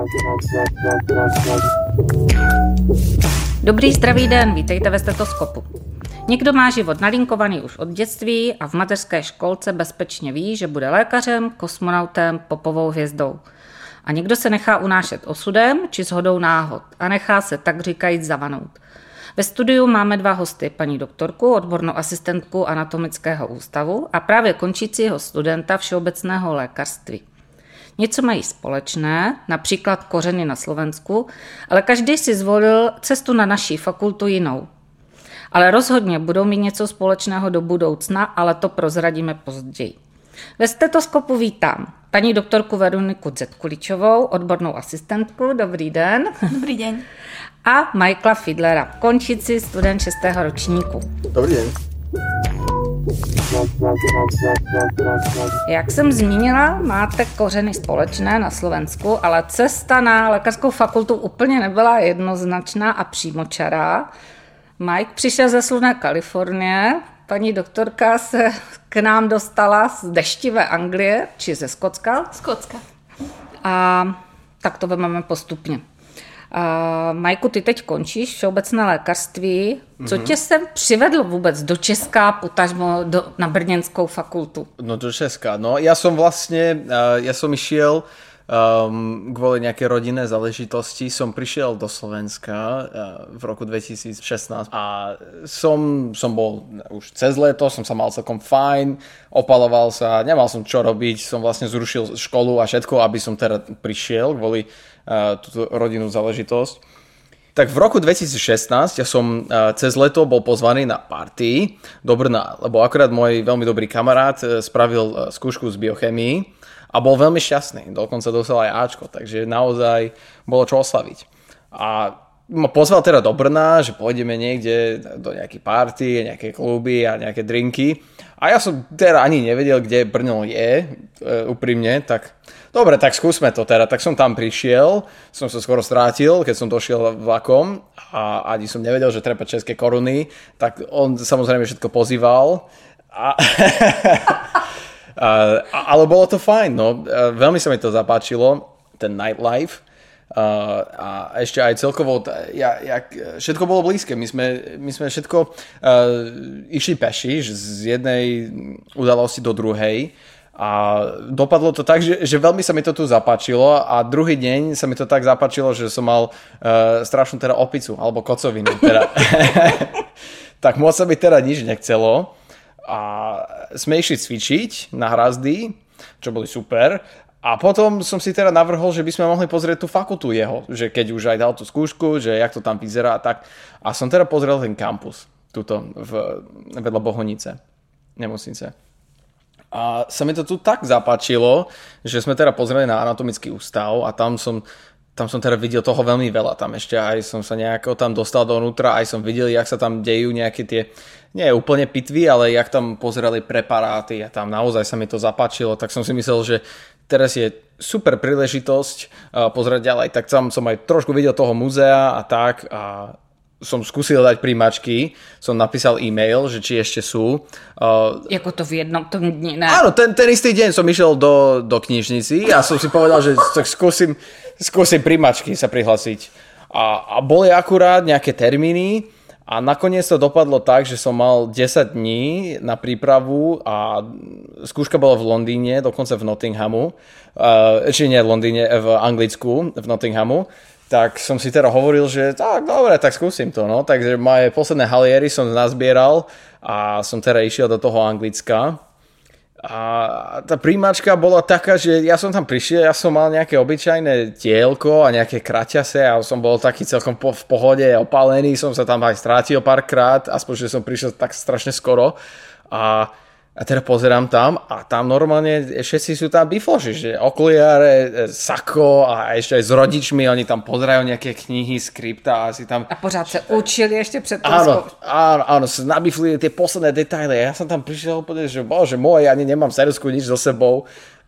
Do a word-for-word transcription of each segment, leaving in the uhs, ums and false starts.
Dobrý zdravý den, vítejte ve stetoskopu. Někdo má život nalinkovaný už od dětství a v mateřské školce bezpečně ví, že bude lékařem, kosmonautem, popovou hvězdou. A někdo se nechá unášet osudem či shodou náhod a nechá se tak říkajíc zavanout. Ve studiu máme dva hosty, paní doktorku, odbornou asistentku anatomického ústavu a právě končícího studenta všeobecného lékařství. Něco mají společné, například kořeny na Slovensku, ale každý si zvolil cestu na naší fakultu jinou. Ale rozhodně budou mít něco společného do budoucna, ale to prozradíme později. Ve stetoskopu vítám paní doktorku Veroniku Zetkuličovou, odbornou asistentku. Dobrý den. Dobrý den. A Michaela Fiedlera, končící student šestého ročníku. Dobrý den. Jak jsem zmínila, máte kořeny společné na Slovensku, ale cesta na lékařskou fakultu úplně nebyla jednoznačná a přímočará. Mike přišel ze slunné Kalifornie, paní doktorka se k nám dostala z deštivé Anglie, či ze Skotska. Skotska. A tak to vezmeme postupně. Uh, Majku, ty teď končíš všeobecné lékařství. Co mm-hmm. tě sem přivedlo vůbec do Česka, potažmo do, na Brněnskou fakultu? No do Česka, no ja som vlastne, uh, ja som išiel um, kvôli nejaké rodinné záležitosti, som prišiel do Slovenska uh, v roku dvetisíc šestnásť a som, som bol už cez leto, som sa mal celkom fajn, opaloval sa, nemal som čo robiť, som vlastne zrušil školu a všetko, aby som teda prišiel kvôli Uh, túto rodinnú záležitosť. Tak v roku dvetisíc šestnásť ja som uh, cez leto bol pozvaný na party do Brna, lebo akorát môj veľmi dobrý kamarát uh, spravil uh, skúšku z biochemii a bol veľmi šťastný, dokonca dostal aj Ačko, takže naozaj bolo čo oslaviť. A ma pozval teda do Brna, že pôjdeme niekde do nejakej party, nejaké kluby a nejaké drinky. A ja som teda ani nevedel, kde Brno je, uh, úprimne, tak dobre, tak skúsme to teda. Tak som tam prišiel, som sa skoro strátil, keď som došiel vlakom a ani som nevedel, že treba české koruny, tak on samozrejme všetko pozýval. A a, ale bolo to fajn, no. Veľmi sa mi to zapáčilo, ten nightlife. Uh, a ešte aj celkovo, ja, ja, všetko bolo blízke. My sme, my sme všetko uh, išli peši z jednej udalosti do druhej. A dopadlo to tak, že, že veľmi sa mi to tu zapáčilo a druhý deň sa mi to tak zapáčilo, že som mal uh, strašnú teda opicu alebo kocovinu. Teda. Tak moc sa mi teda nič nechcelo a sme išli cvičiť na Hrazdy, čo boli super. A potom som si teda navrhol, že by sme mohli pozrieť tú fakultu jeho, že keď už aj dal tú skúšku, že jak to tam vyzerá a tak. A som teda pozrel ten kampus tuto v, vedľa Bohunice, nemocnice. A sa mi to tu tak zapáčilo, že sme teda pozreli na anatomický ústav a tam som, tam som teda videl toho veľmi veľa. Tam ešte aj som sa nejako tam dostal dovnútra, aj som videl, jak sa tam dejú nejaké tie, nie úplne pitvy, ale jak tam pozerali preparáty a tam naozaj sa mi to zapáčilo. Tak som si myslel, že teraz je super príležitosť uh, pozerať ďalej. Tak tam som aj trošku videl toho muzea a tak a som skúsil dať príjmačky, som napísal e-mail, že či ešte sú. Uh, Jako to v jednom tom dni, ne? Áno, ten, ten istý deň som išiel do, do knižnici a som si povedal, že tak skúsim, skúsim príjmačky sa prihlasiť. A, a boli akurát nejaké termíny a nakoniec to dopadlo tak, že som mal desať dní na prípravu a skúška bola v Londýne, dokonca v Nottinghamu. Uh, či nie v Londýne, v Anglicku, v Nottinghamu. Tak som si teda hovoril, že tak dobre, tak skúsim to, no. Takže moje posledné haliery som nazbieral a som teda išiel do toho Anglicka. A tá príjmačka bola taká, že ja som tam prišiel, ja som mal nejaké obyčajné tielko a nejaké kraťase a som bol taký celkom po, v pohode, opálený, som sa tam aj strátil párkrát, aspoň, že som prišiel tak strašne skoro. A A teda pozerám tam a tam normálne všetci sú tam bifloši, že okuliare, sako a ešte aj s rodičmi, oni tam pozerajú nejaké knihy, skripta a si tam... A pořád se učili ešte pred tou áno, áno, áno, sa nabiflili tie posledné detaily a ja som tam prišiel úplne, že bože môj, ani nemám serusku nič so sebou.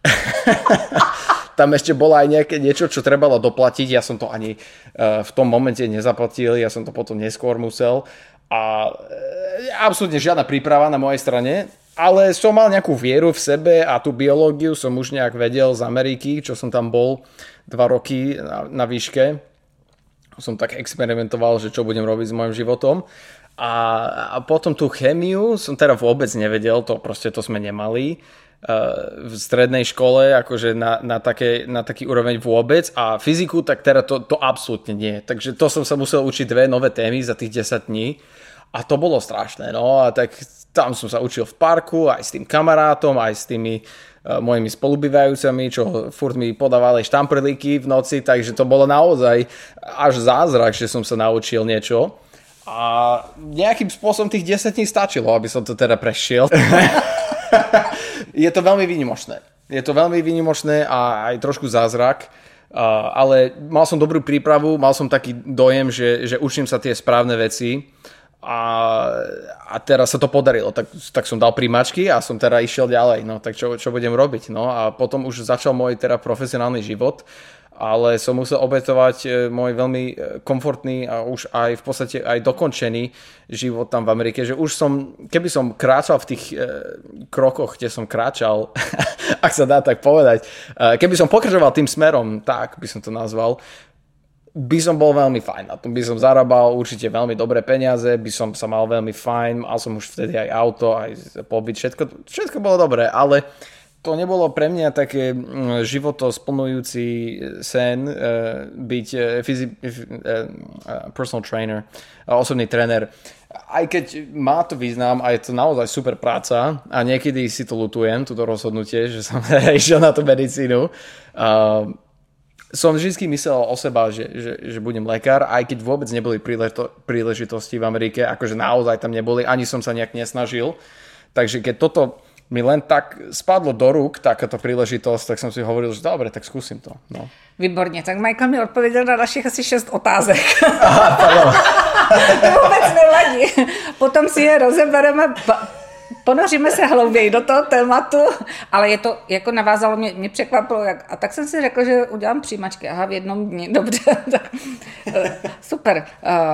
Tam ešte bolo aj nejaké niečo, čo trebalo doplatiť, ja som to ani uh, v tom momente nezaplatil, ja som to potom neskôr musel a uh, absolútne žiadna príprava na mojej strane. ale som mal nejakú vieru v sebe a tú biológiu som už nejak vedel z Ameriky, čo som tam bol dva roky na, na výške. Som tak experimentoval, že čo budem robiť s mojim životom. A, a potom tú chémiu som teda vôbec nevedel, to proste to sme nemali uh, v strednej škole, akože na, na, také, na taký úroveň vôbec. A fyziku, tak teda to, to absolútne nie. Takže to som sa musel učiť dve nové témy za tých desať dní. A to bolo strašné, no a tak tam som sa učil v parku, aj s tým kamarátom, aj s tými uh, mojimi spolubývajúcami, čo furt mi podávali štamprlíky v noci, takže to bolo naozaj až zázrak, že som sa naučil niečo. A nejakým spôsobom tých desať dní stačilo, aby som to teda prešiel. Je to veľmi výnimočné. Je to veľmi výnimočné a aj trošku zázrak. Uh, ale mal som dobrú prípravu, mal som taký dojem, že, že učím sa tie správne veci. A, a teraz sa to podarilo, tak, tak som dal príjmačky a som teda išiel ďalej, no tak čo, čo budem robiť, no a potom už začal môj teda profesionálny život, ale som musel obetovať môj veľmi komfortný a už aj v podstate aj dokončený život tam v Amerike, že už som, keby som kráčal v tých e, krokoch, kde som kráčal, ak sa dá tak povedať, e, keby som pokračoval tým smerom, tak by som to nazval, by som bol veľmi fajn na tom, by som zarábal určite veľmi dobré peniaze, by som sa mal veľmi fajn, mal som už vtedy aj auto, aj pobyt, všetko, všetko bolo dobré, ale to nebolo pre mňa také životosplňujúci sen byť fyzi- personal trainer, osobný tréner. Aj keď má to význam a je to naozaj super práca a niekedy si to lutujem, toto rozhodnutie, že som išiel na tú medicínu. Som vždy myslel o seba, že, že, že budem lekár, aj keď vôbec neboli príležito- príležitosti v Amerike, akože naozaj tam neboli, ani som sa nejak nesnažil. Takže keď toto mi len tak spadlo do rúk, takáto príležitosť, tak som si hovoril, že dobre, tak skúsim to. No. Výborně, tak Michael mi odpověděl na našich asi šest otázek. Aha, pardon. To vůbec nevadí. Potom si je rozebereme... Ponoříme se hlouběji do toho tématu, ale je to, jako navázalo, mě, mě překvapilo, jak, a tak jsem si řekla, že udělám přijímačky, aha, v jednom dni, dobře, super.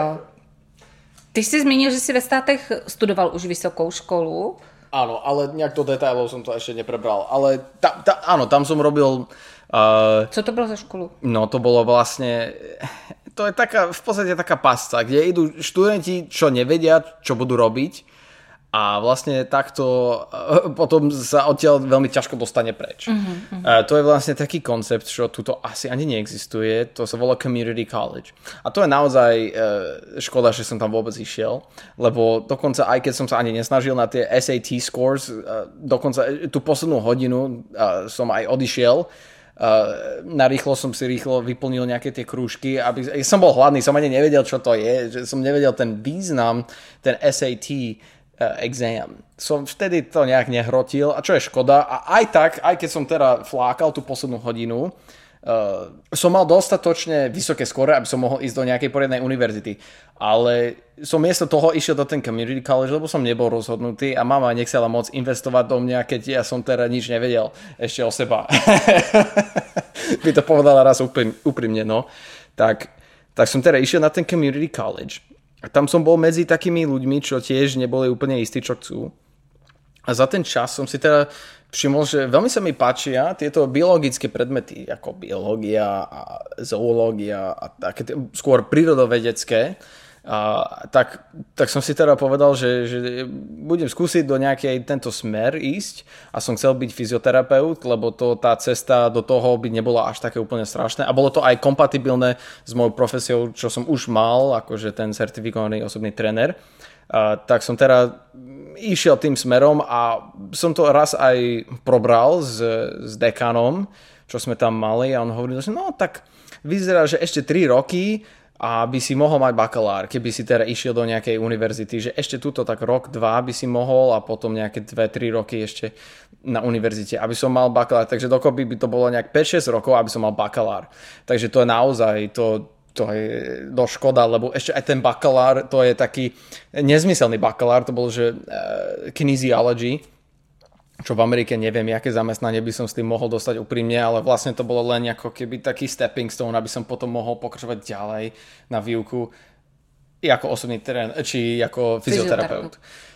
Ty jsi zmínil, že jsi ve státech studoval už vysokou školu. Áno, ale nejak do detailov som to ešte neprebral, ale ta, ta, áno, tam som robil... Uh, Co to bylo za školu? No, to bolo vlastne... To je taká, v podstate taká pasca, kde idú študenti, čo nevedia, čo budú robiť. A vlastne takto potom sa odtiaľ veľmi ťažko dostane preč. Uh-huh, uh-huh. To je vlastne taký koncept, čo tuto asi ani neexistuje. To sa volá Community College. A to je naozaj škoda, že som tam vôbec išiel, lebo dokonca aj keď som sa ani nesnažil na tie es á té scores, dokonca tú poslednú hodinu som aj odišiel. Na rýchlo som si rýchlo vyplnil nejaké tie krúžky, aby som bol hladný, som ani nevedel, čo to je, že som nevedel ten význam, ten es á té exam. Som vtedy to nejak nehrotil a čo je škoda a aj tak, aj keď som teda flákal tú poslednú hodinu, uh, som mal dostatočne vysoké skóre, aby som mohol ísť do nejakej poriadnej univerzity. Ale som miesto toho išiel do ten community college, lebo som nebol rozhodnutý a mama nechcela moc investovať do mňa, keď ja som teda nič nevedel ešte o seba. By to povedala raz úprimne, no. Tak, tak som teda išiel na ten community college. A tam som bol medzi takými ľuďmi, čo tiež neboli úplne istí, čo chcú. A za ten čas som si teda všimol, že veľmi sa mi páčia tieto biologické predmety, ako biológia a zoológia a také skôr prírodovedecké. A tak, tak som si teda povedal, že, že budem skúsiť do nejakej tento smer ísť a som chcel byť fyzioterapeut, lebo to, tá cesta do toho by nebola až také úplne strašné a bolo to aj kompatibilné s mojou profesiou, čo som už mal, akože ten certifikovaný osobný tréner. A tak som teda išiel tým smerom a som to raz aj probral s, s dekanom, čo sme tam mali a on hovoril, že no tak vyzerá, že ešte tri roky a by si mohol mať bakalár, keby si teda išiel do nejakej univerzity, že ešte túto tak rok, dva by si mohol a potom nejaké dve, tri roky ešte na univerzite, aby som mal bakalár. Takže dokopy by to bolo nejak päť šesť rokov, aby som mal bakalár. Takže to je naozaj, to, to je dosť škoda, lebo ešte aj ten bakalár, to je taký nezmyselný bakalár, to bol, že uh, kinesiology, čo v Amerike neviem, aké zamestnanie by som s tým mohol dostať úprimne, ale vlastne to bolo len ako keby taký stepping stone, aby som potom mohol pokračovať ďalej na výuku ako osobný terén, či ako fyzioterapeut.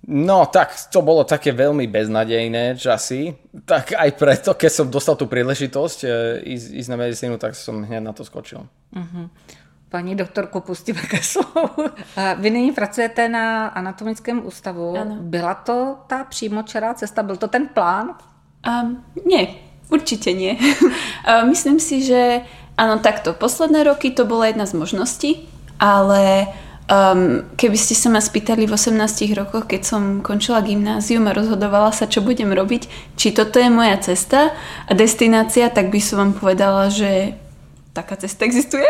No tak to bolo také veľmi beznadejné časy, tak aj preto, keď som dostal tú príležitosť e, ísť, ísť na medicínu, tak som hneď na to skočil. Uh-huh. Paní doktorku, pustíme ke slovu. Vy nyní pracujete na anatomickém ústavu. Ano. Byla to ta přímočará cesta? Byl to ten plán? Um, nie, určite nie. Myslím si, že áno, takto. Posledné roky to bola jedna z možností, ale Um, keby ste sa ma spýtali v osemnástich rokoch, keď som končila gymnázium a rozhodovala sa, čo budem robiť, či toto je moja cesta a destinácia, tak by som vám povedala, že taká cesta existuje.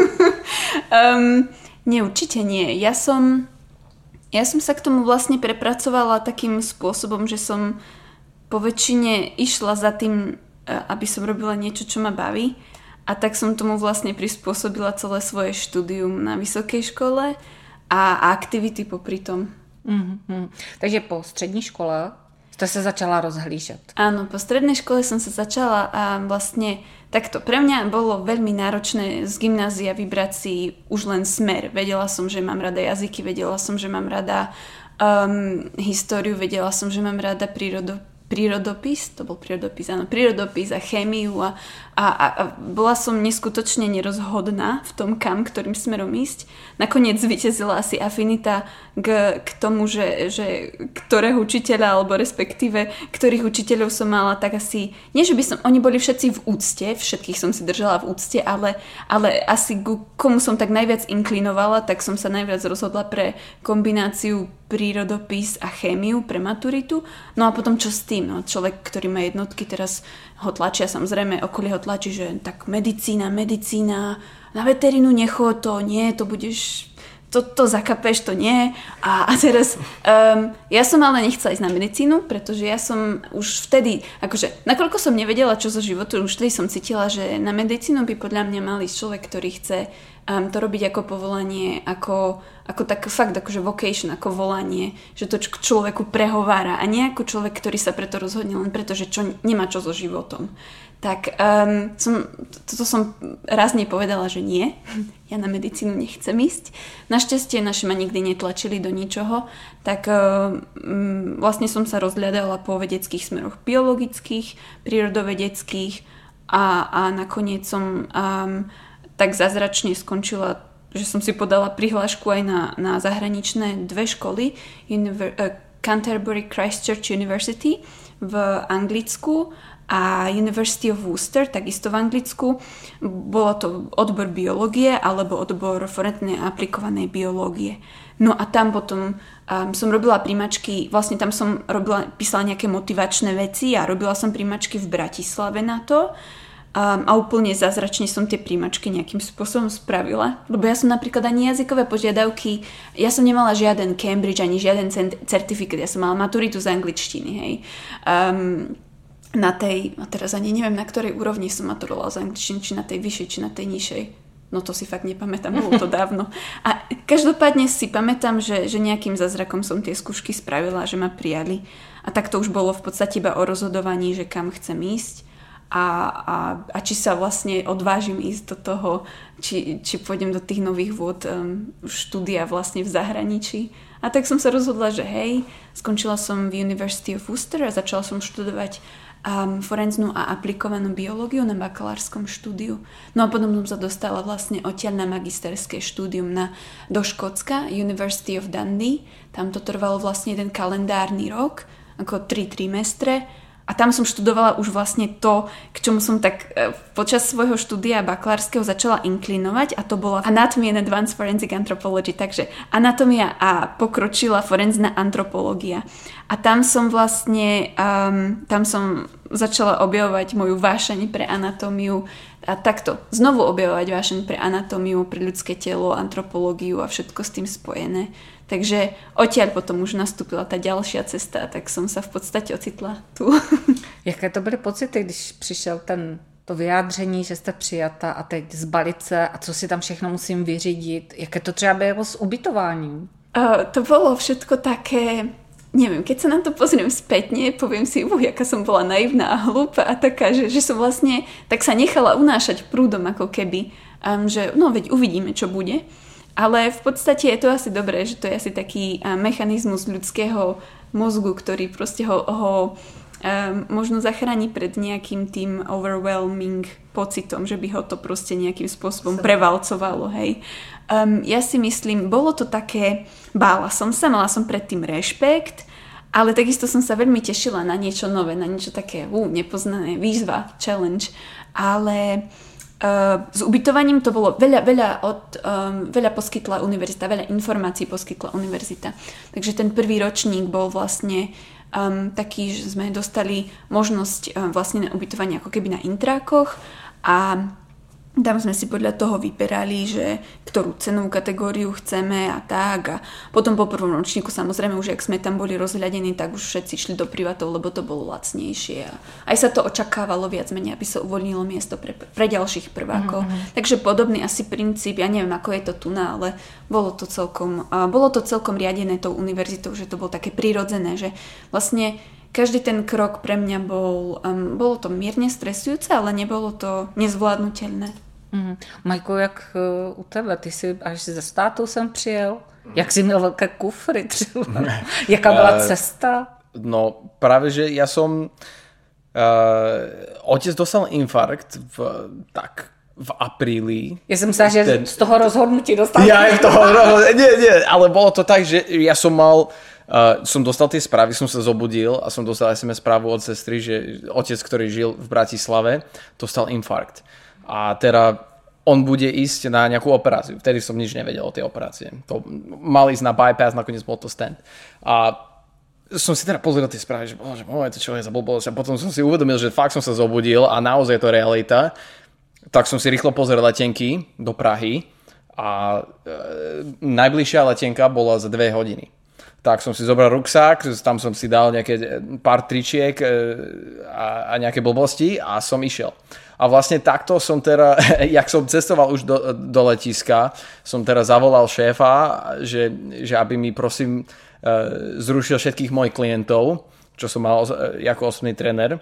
um, nie, určite nie. Ja som, ja som sa k tomu vlastne prepracovala takým spôsobom, že som po väčšine išla za tým, aby som robila niečo, čo ma baví. A tak som tomu vlastne prispôsobila celé svoje štúdium na vysokej škole a aktivity popri tom. Mm-hmm. Takže po střední škole ste sa začala rozhlížet. Áno, po strednej škole som sa začala a vlastne takto. Pre mňa bolo veľmi náročné z gymnázia vybrať si už len smer. Vedela som, že mám rada jazyky, vedela som, že mám rada um, históriu, vedela som, že mám rada prírodu. prírodopis, to bol prírodopis, áno, prírodopis a chémiu a, a, a bola som neskutočne nerozhodná v tom, kam, ktorým smerom ísť. Nakoniec zvíťazila asi afinita k, k tomu, že, že ktorého učiteľa, alebo respektíve ktorých učiteľov som mala, tak asi, nie že by som, oni boli všetci v úcte, všetkých som si držala v úcte, ale, ale asi ku komu som tak najviac inklinovala, tak som sa najviac rozhodla pre kombináciu prírodopis a chémiu pre maturitu. No a potom čo s tým? No, človek, ktorý má jednotky, teraz ho tlačia, samozrejme okolie ho tlačí, že tak medicína, medicína, na veterínu nechod to, nie, to budeš, to, to zakapeš, to nie. A, a teraz, um, ja som ale nechcela ísť na medicínu, pretože ja som už vtedy, akože, nakoľko som nevedela, čo zo životu, už vtedy som cítila, že na medicínu by podľa mňa mal ísť človek, ktorý chce Um, to robiť ako povolanie, ako, ako tak fakt akože vocation, ako volanie, že to k človeku prehovára a nie ako človek, ktorý sa preto rozhodne len preto, že čo, nemá čo so životom. Tak um, som, toto som raz nepovedala, že nie, ja na medicínu nechcem ísť. Našťastie naši ma nikdy netlačili do ničoho, tak um, vlastne som sa rozhľadala po vedeckých smeroch biologických, prírodovedeckých a, a nakoniec som um, tak zázračne skončila, že som si podala prihlášku aj na, na zahraničné dve školy, Univer- uh, Canterbury Christchurch University v Anglicku a University of Worcester, takisto v Anglicku. Bolo to odbor biológie alebo odbor forenznej a aplikovanej biológie. No a tam potom um, som robila príjmačky, vlastne tam som robila, písala nejaké motivačné veci a robila som príjmačky v Bratislave na to. Um, a úplne zázračne som tie príjmačky nejakým spôsobom spravila. Lebo ja som napríklad ani jazykové požiadavky, ja som nemala žiaden Cambridge, ani žiaden certifikát, ja som mala maturitu z angličtiny, hej. Um, na tej, a teraz ani neviem, na ktorej úrovni som maturovala z angličtiny, či na tej vyššej, či na tej nižšej. No to si fakt nepamätám, bolo to dávno. A každopádne si pamätám, že, že nejakým zázrakom som tie skúšky spravila, že ma prijali. A tak to už bolo v podstate iba o rozhodovaní, že kam chcem ísť. A, a, a či sa vlastne odvážim ísť do toho, či, či pôjdem do tých nových vôd um, štúdia vlastne v zahraničí. A tak som sa rozhodla, že hej, skončila som v University of Worcester a začala som študovať um, forenznú a aplikovanú biológiu na bakalárskom štúdiu. No a potom som sa dostala vlastne odtiaľ na magisterské štúdium na, do Škótska, University of Dundee. Tam to trvalo vlastne jeden kalendárny rok, ako tri trimestre. A tam som študovala už vlastne to, k čomu som tak e, počas svojho štúdia bakalárskeho začala inklinovať a to bola Anatomy and Advanced Forensic Anthropology, takže anatómia a pokročilá forenzná antropológia. A tam som vlastne, um, tam som začala objavovať moju vášeň pre anatómiu a takto znovu objavovať vášeň pre anatómiu, pre ľudské telo, antropológiu a všetko s tým spojené. Takže odtiaľ potom už nastúpila tá ďalšia cesta, tak som sa v podstate ocitla tu. Jaké to byly pocity, když přišel ten, to vyjádření, že jste přijata a teď zbalit se a co si tam všechno musím vyřídit? Jaké to třeba bylo s ubytováním? Uh, to bolo všetko také, neviem, keď sa na to pozriem spätne, poviem si, uj, jaká som bola naivná a hlúpa a taká, že, že som vlastne tak sa nechala unášať prúdom ako keby, um, že no veď uvidíme, čo bude. Ale v podstate je to asi dobré, že to je asi taký mechanizmus ľudského mozgu, ktorý proste ho, ho um, možno zachráni pred nejakým tým overwhelming pocitom, že by ho to proste nejakým spôsobom prevalcovalo, hej. Um, ja si myslím, bolo to také, bála som sa, mala som predtým rešpekt, ale takisto som sa veľmi tešila na niečo nové, na niečo také uh, nepoznané, výzva, challenge, ale Uh, s ubytovaním to bolo veľa, veľa, od, um, veľa poskytla univerzita, veľa informácií poskytla univerzita. Takže ten prvý ročník bol vlastne um, taký, že sme dostali možnosť um, vlastne na ubytovanie ako keby na intrákoch a tam sme si podľa toho vyberali, že ktorú cenovú kategóriu chceme a tak. A potom po prvom ročníku samozrejme už, ak sme tam boli rozhľadení, tak už všetci šli do privátov, lebo to bolo lacnejšie. A aj sa to očakávalo viac menej, aby sa uvoľnilo miesto pre, pre ďalších prvákov. Mm-hmm. Takže podobný asi princíp, ja neviem, ako je to tu na, ale bolo to celkom, uh, bolo to celkom riadené tou univerzitou, že to bolo také prirodzené, že vlastne každý ten krok pre mňa bol, um, bolo to mierne stresujúce, ale nebolo to nezvládnutelné. Mm. Majko, jak uh, u tebe? Ty si až ze státu sem přijel? Jak jsi měl velké kufry třeba? Jaká byla cesta? No práve, že ja som... Uh, otec dostal infarkt v, tak v apríli. Ja som myslela, že ten... z toho rozhodnutí dostal. Ja aj z toho rozhodnutí. Nie, nie, ale bolo to tak, že ja som mal... Uh, som dostal tie správy, som sa zobudil a som dostal es em es správu od sestry, že otec, ktorý žil v Bratislave, dostal infarkt. A teda on bude ísť na nejakú operáciu. Vtedy som nič nevedel o tej operácie. To mal ísť na bypass, nakoniec bol to stent. A som si teda pozrel tie správy, že bože, môj, to čo je za blbosť. A potom som si uvedomil, že fakt som sa zobudil a naozaj je to realita. Tak som si rýchlo pozrel letenky do Prahy a e, najbližšia letenka bola za dve hodiny. Tak som si zobral ruksák, tam som si dal nejaké pár tričiek a, a nejaké blbosti a som išiel. A vlastne takto som teda, jak som cestoval už do, do letiska, som teda zavolal šéfa, že, že aby mi prosím zrušil všetkých mojich klientov, čo som mal ako osobný tréner.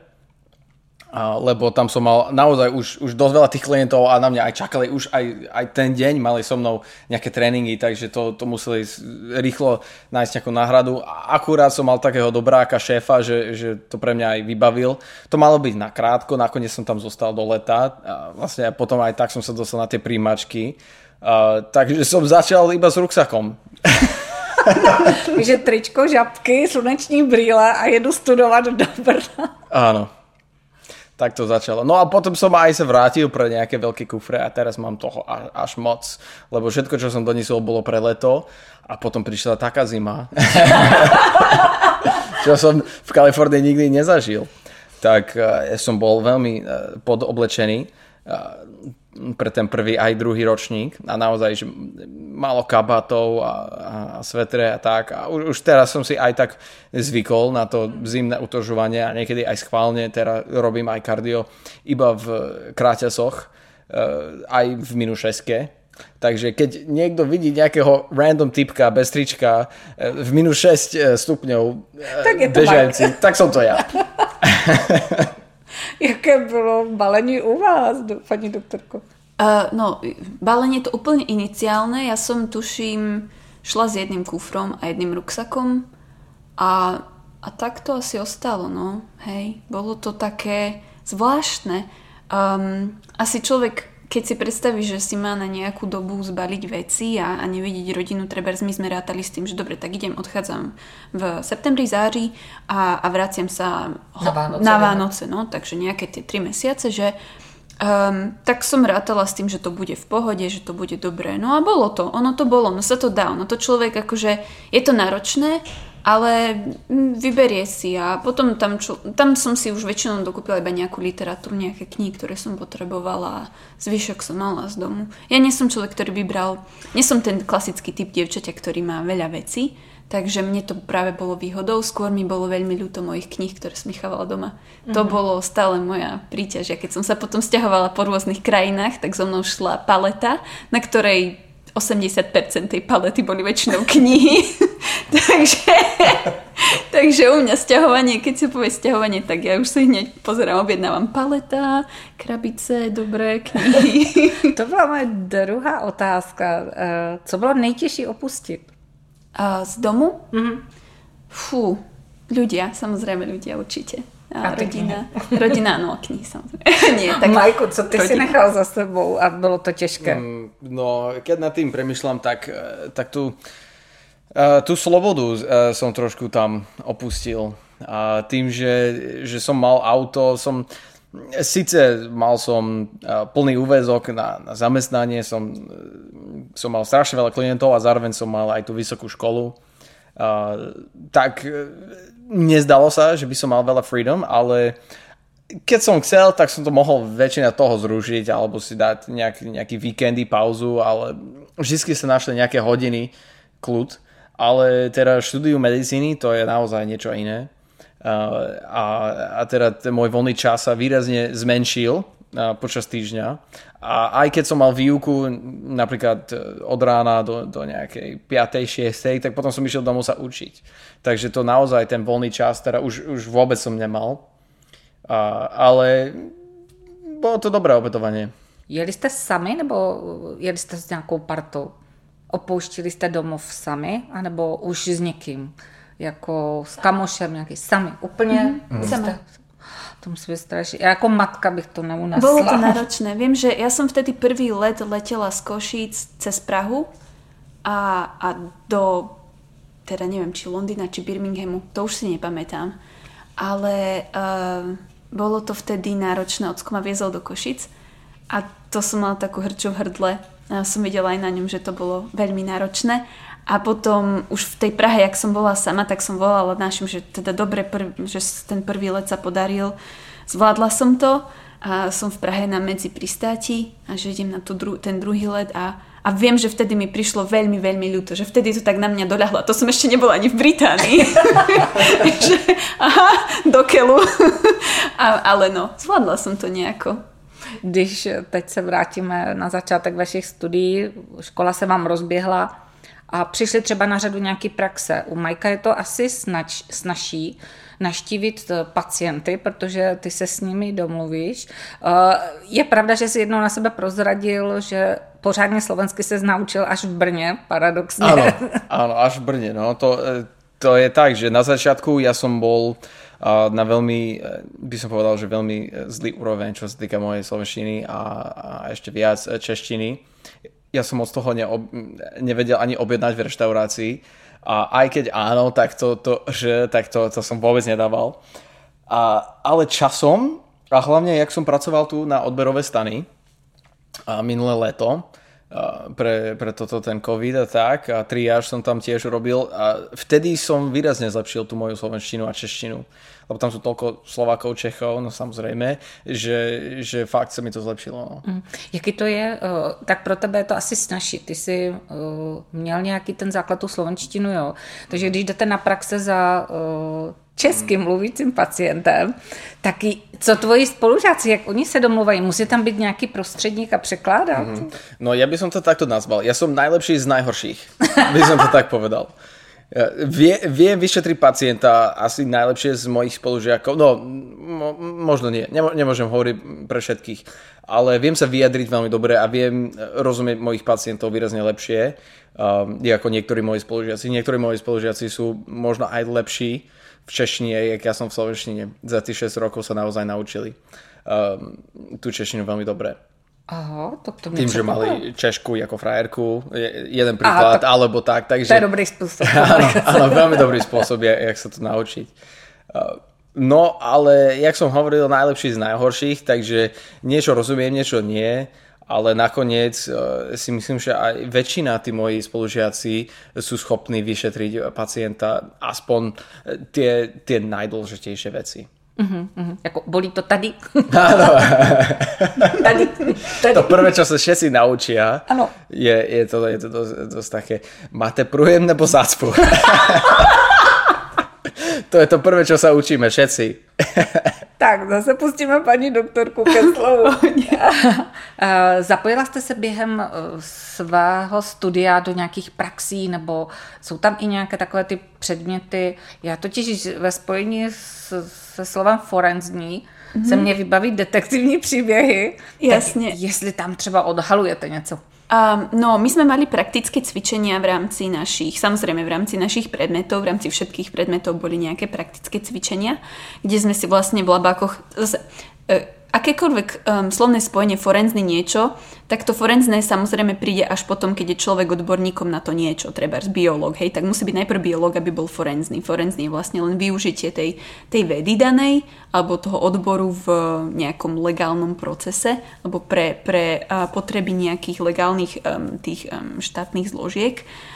A, lebo tam som mal naozaj už, už dosť veľa tých klientov a na mňa aj čakali už aj, aj ten deň, mali so mnou nejaké tréningy, takže to, to museli rýchlo nájsť nejakú náhradu. A akurát som mal takého dobráka šéfa, že, že to pre mňa aj vybavil. To malo byť na krátko, nakoniec som tam zostal do leta a vlastne potom aj tak som sa dostal na tie príjmačky. A, takže som začal iba s ruksakom. Takže tričko, žabky, sluneční brýle a jedu studovať do Brna. Áno. Tak to začalo. No a potom som aj sa vrátil pre nejaké veľké kufre a teraz mám toho až, až moc. Lebo všetko, čo som doniesol, bolo pre leto a potom prišla taká zima. Čo som v Kalifornii nikdy nezažil. Tak ja som bol veľmi podoblečený pre ten prvý aj druhý ročník a naozaj, že málo kabátov a, a svetre a tak. A už, už teraz som si aj tak zvykol na to zimné utužovanie a niekedy aj schválne teraz robím aj kardio iba v kráťasoch, aj v minus šesť. Takže keď niekto vidí nejakého random typka bez trička v minus šesť stupňov bežajúci, tak som to ja. Jaké bylo balení u vás, pani doktorko? Uh, no, balenie to úplne iniciálne. Ja som, tuším, šla s jedným kufrom a jedným ruksakom a, a tak to asi ostalo, no. Hej, bolo to také zvláštne. Um, asi človek, keď si predstaví, že si má na nejakú dobu zbaliť veci a, a nevidieť rodinu, trebárs my sme rátali s tým, že dobre, tak idem, odchádzam v septembri, září a, a vraciam sa ho, na Vánoce, na Vánoce no, takže nejaké tie tri mesiace, že um, tak som rátala s tým, že to bude v pohode, že to bude dobré. No a bolo to, ono to bolo, no sa to dá, no to človek akože, je to náročné, ale vyberie si a potom tam, čo, tam som si už väčšinou dokúpila iba nejakú literatúru, nejaké knihy, ktoré som potrebovala a zvyšok som mala z domu. Ja nie som človek, ktorý by bral, nie som ten klasický typ dievčaťa, ktorý má veľa vecí, takže mne to práve bolo výhodou, skôr mi bolo veľmi ľúto mojich kníh, ktoré som nechávala doma. Mm-hmm. To bolo stále moja príťaž. Ja keď som sa potom sťahovala po rôznych krajinách, tak so mnou šla paleta, na ktorej osemdesiat percent tej palety boli väčšinou knihy. takže, takže Takže u mňa sťahovanie, keď si povie sťahovanie, tak ja už si hneď pozerám, objednávam paleta, krabice, dobré knihy. To byla moje druhá otázka. Co bylo nejtěžší opustit? A z domu? Mm-hmm. Fú, ľudia, samozrejme ľudia určite. A, a rodina, rodina, no knihy samozrejme. Nie, tak Majku, co ty rodina. si nechal za sebou a bylo to těžké? Mm, no, keď nad tým premyšľam, tak, tak tu, uh, tú slobodu uh, som trošku tam opustil. A tým, že, že som mal auto, som síce mal som uh, plný úväzok na, na zamestnanie, som, som mal strašne veľa klientov a zároveň som mal aj tú vysokú školu. Uh, tak nezdalo sa, že by som mal veľa freedom, ale keď som chcel, tak som to mohol väčšina toho zrušiť alebo si dať nejaký, nejaký víkendy, pauzu, ale vždy sa našli nejaké hodiny kľud, ale teda štúdiu medicíny to je naozaj niečo iné. Uh, a, a teda ten môj voľný čas sa výrazne zmenšil uh, počas týždňa a aj keď som mal výuku napríklad od rána do, do nejakej piatej šiestej, tak potom som išiel domov sa učiť. Takže to naozaj ten voľný čas teda už, už vôbec som nemal, uh, ale bolo to dobré opätovanie. Jeli jste sami nebo jeli jste s nějakou partou? Opouštili jste domov sami anebo už s někým? Jako s kamošem nějaký sami, úplně? Mm-hmm. Sama. To musí být strašně. Já jako matka bych to neunesla. Bolo to náročné. Viem, že ja som vtedy prvý let letela z Košíc cez Prahu a, a do, teda neviem, či Londýna, či Birminghamu, to už si nepamätám. Ale uh, bolo to vtedy náročné. Ocko ma viezol do Košic a to som mala takú hrču v hrdle. A som videla aj na ňom, že to bolo veľmi náročné. A potom už v tej Prahe, jak som bola sama, tak som volala našim, že teda dobre, prv, že ten prvý let sa podaril. Zvládla som to a som v Prahe na medzi pristáti a že idem na tú dru- ten druhý let a, a viem, že vtedy mi prišlo veľmi, veľmi ľúto, že vtedy to tak na mňa doľahlo. To som ešte nebola ani v Británii. že, aha, do keľu. a, ale no, zvládla som to nejako. Když teď se vrátíme na začátek vašich studií, škola se vám rozběhla a přišli třeba na řadu nějaký praxe. U Majka je to asi snaž, snažší naštívit pacienty, protože ty se s nimi domluvíš. Je pravda, že jsi jednou na sebe prozradil, že pořádně slovensky se naučil až v Brně, paradoxně. Áno, áno, až v Brně. No. To, to je tak, že na začiatku ja som bol na veľmi, by som povedal, že veľmi zlý úroveň, čo sa týka mojej slovenštiny a, a ešte viac češtiny. Ja som moc toho neob, nevedel ani objednať v reštaurácii a aj keď áno, tak to, to že, tak to, to som vôbec nedával. A, ale časom, a hlavne jak som pracoval tu na odberové stany a minulé leto, pre, pre toto ten COVID a tak a triáž som tam tiež robil a vtedy som výrazne zlepšil tú moju slovenštinu a češtinu, lebo tam sú toľko Slovákov, Čechov, no samozrejme, že, že fakt sa mi to zlepšilo. No. Mm. Jaký to je? Tak pro tebe je to asi snažší. Ty jsi měl nějaký ten základ tu slovenštinu, jo. Takže když jdete na praxe za českým mluvícím pacientem, tak co tvoji spolužáci, jak oni se domluvají? Musí tam byť nejaký prostředník a překládat? Mm-hmm. No ja by som to takto nazval. Ja som najlepší z najhorších, by som to tak povedal. Vie, viem vyšetriť pacienta asi najlepšie z mojich spolužiakov. No, mo, možno nie. Nemo, nemôžem hovoriť pre všetkých. Ale viem sa vyjadriť veľmi dobre a viem rozumieť mojich pacientov výrazne lepšie. Um, ako niektorí moji spolužiaci. Niektorí moji spolužiaci sú možno aj lepší v češtine, jak ja som v slovenštine. Za tých šesť rokov sa naozaj naučili um, tú češtinu veľmi dobre. Aha, to, to tým, že mali Češku ako frajerku, jeden príklad, Aha, to, alebo tak. Takže, to je dobrý spôsob. Áno, áno, veľmi dobrý spôsob, jak, jak sa to naučiť. No, ale jak som hovoril, najlepší z najhorších, takže niečo rozumiem, niečo nie, ale nakoniec si myslím, že aj väčšina tí moji spolužiaci sú schopní vyšetriť pacienta aspoň tie, tie najdôležitejšie veci. Uh-huh, uh-huh. Jako bolí to tady? Áno. tady, tady. To prvé, čo sa všetci naučia, ano. je, je to, je to dosť, dosť také, máte prújem nebo zácpu? To je to prvé, čo sa učíme všetci. Tak, zase pustíme paní doktorku ke slovu. Zapojila jste se během svého studia do nějakých praxí, nebo jsou tam i nějaké takové ty předměty? Já totiž ve spojení s, se slovem forenzní mm-hmm. se mě vybaví detektivní příběhy. Jasně. Tak jestli tam třeba odhalujete něco. Um, no, my sme mali praktické cvičenia v rámci našich, samozrejme v rámci našich predmetov, v rámci všetkých predmetov boli nejaké praktické cvičenia, kde sme si vlastne v labákoch, zase, uh, akékoľvek um, slovné spojenie forenzný niečo, tak to forenzné samozrejme príde až potom, keď je človek odborníkom na to niečo, trebárs biológ, hej, tak musí byť najprv biológ, aby bol forenzný. Forenzný je vlastne len využitie tej, tej vedy danej, alebo toho odboru v nejakom legálnom procese, alebo pre, pre uh, potreby nejakých legálnych um, tých um, štátnych zložiek.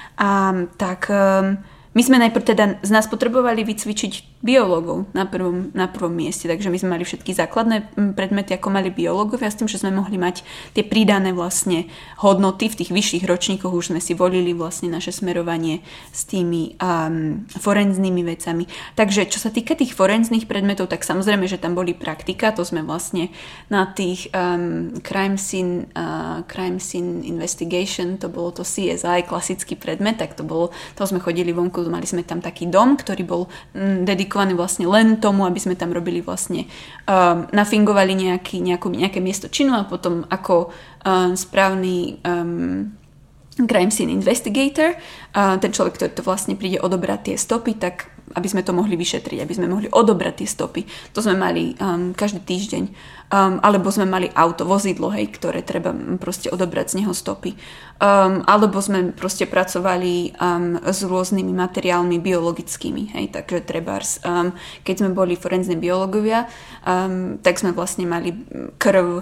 A tak... Um, My sme najprv teda z nás potrebovali vycvičiť biológov na prvom, na prvom mieste, takže my sme mali všetky základné predmety, ako mali biológovia, s tým, že sme mohli mať tie pridané vlastne hodnoty. V tých vyšších ročníkoch už sme si volili vlastne naše smerovanie s tými um, forenznými vecami. Takže čo sa týka tých forenzných predmetov, tak samozrejme, že tam boli praktika, to sme vlastne na tých um, crime scene, uh, crime scene investigation, to bolo to C S I, klasický predmet, tak to bolo, to sme chodili vonku, mali sme tam taký dom, ktorý bol mm, dedikovaný vlastne len tomu, aby sme tam robili vlastne, um, nafingovali nejaký, nejakú, nejaké miesto činu a potom ako um, správny um, crime scene investigator, uh, ten človek, ktorý to vlastne príde odobrať tie stopy, tak aby sme to mohli vyšetriť, aby sme mohli odobrať tie stopy. To sme mali um, každý týždeň. Um, alebo sme mali auto, vozidlo, hej, ktoré treba proste odobrať z neho stopy. Um, alebo sme proste pracovali um, s rôznymi materiálmi biologickými, hej, takže trebárs, um, keď sme boli forenzní biológovia, um, tak sme vlastne mali krv,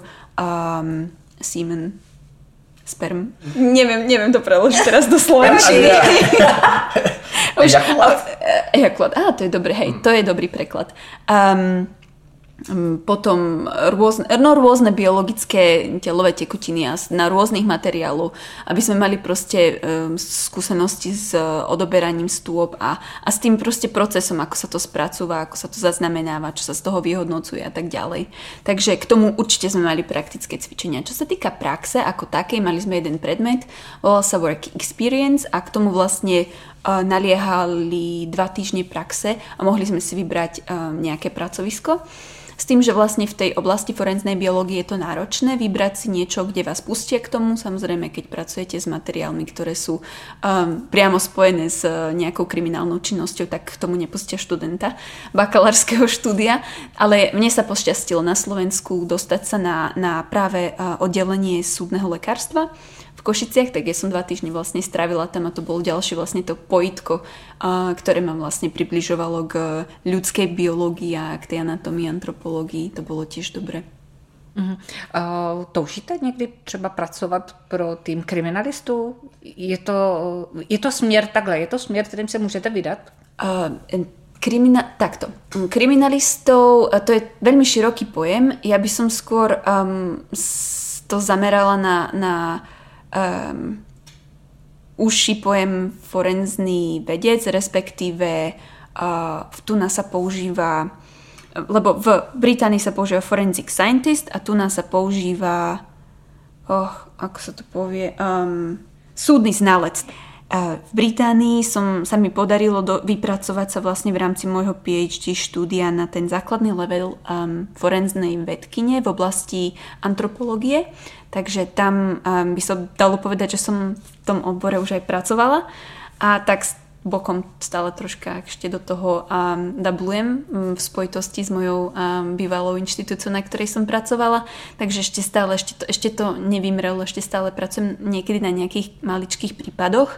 um, semen, sperm. Neviem, neviem to preložiť teraz do slovenčiny. Ejakulát? Ejakulát, á, to je dobré, hej, to je dobrý preklad. Um, potom rôzne, no, rôzne biologické telové tekutiny a na rôznych materiálov, aby sme mali proste um, skúsenosti s uh, odoberaním stôp a, a s tým proste procesom, ako sa to spracúva, ako sa to zaznamenáva, čo sa z toho vyhodnocuje a tak ďalej. Takže k tomu určite sme mali praktické cvičenia. Čo sa týka praxe ako takej, mali sme jeden predmet, volal sa Work Experience a k tomu vlastne uh, naliehali dva týždne praxe a mohli sme si vybrať um, nejaké pracovisko. S tým, že vlastne v tej oblasti forenznej biológie je to náročné vybrať si niečo, kde vás pustia k tomu. Samozrejme, keď pracujete s materiálmi, ktoré sú um, priamo spojené s uh, nejakou kriminálnou činnosťou, tak k tomu nepustia študenta bakalárskeho štúdia. Ale mne sa pošťastilo na Slovensku dostať sa na, na práve uh, oddelenie súdneho lekárstva v Košiciach, tak ja som dva týždne vlastne strávila tam a to bolo ďalšie vlastne to pojitko, uh, ktoré ma vlastne približovalo k ľudskej biológii a k tej anatomii, antropologii. To bylo tiež dobré. Uh-huh. Uh, toužíte někdy třeba pracovat pro tým kriminalistů? Je to, je to směr takhle, je to směr, kterým se můžete vydat? Uh, Krimina- takto. Kriminalistov, to je veľmi široký pojem. Ja by som skôr um, to zamerala na, na um, užší pojem forenzný vedec, respektíve uh, tu nás sa používa, lebo v Británii sa používa forensic scientist a tu nás sa používa, oh, ako sa to povie, um, súdny znalec. V Británii som, sa mi podarilo do, vypracovať sa vlastne v rámci môjho PhD štúdia na ten základný level um, forenznej vedkyne v oblasti antropológie. Takže tam um, by som dalo povedať, že som v tom odbore už aj pracovala. A tak bokom stále troška ešte do toho um, dablujem um, v spojitosti s mojou um, bývalou inštitúciou, na ktorej som pracovala. Takže ešte stále, ešte to, ešte to nevymrelo, ešte stále pracujem niekedy na nejakých maličkých prípadoch.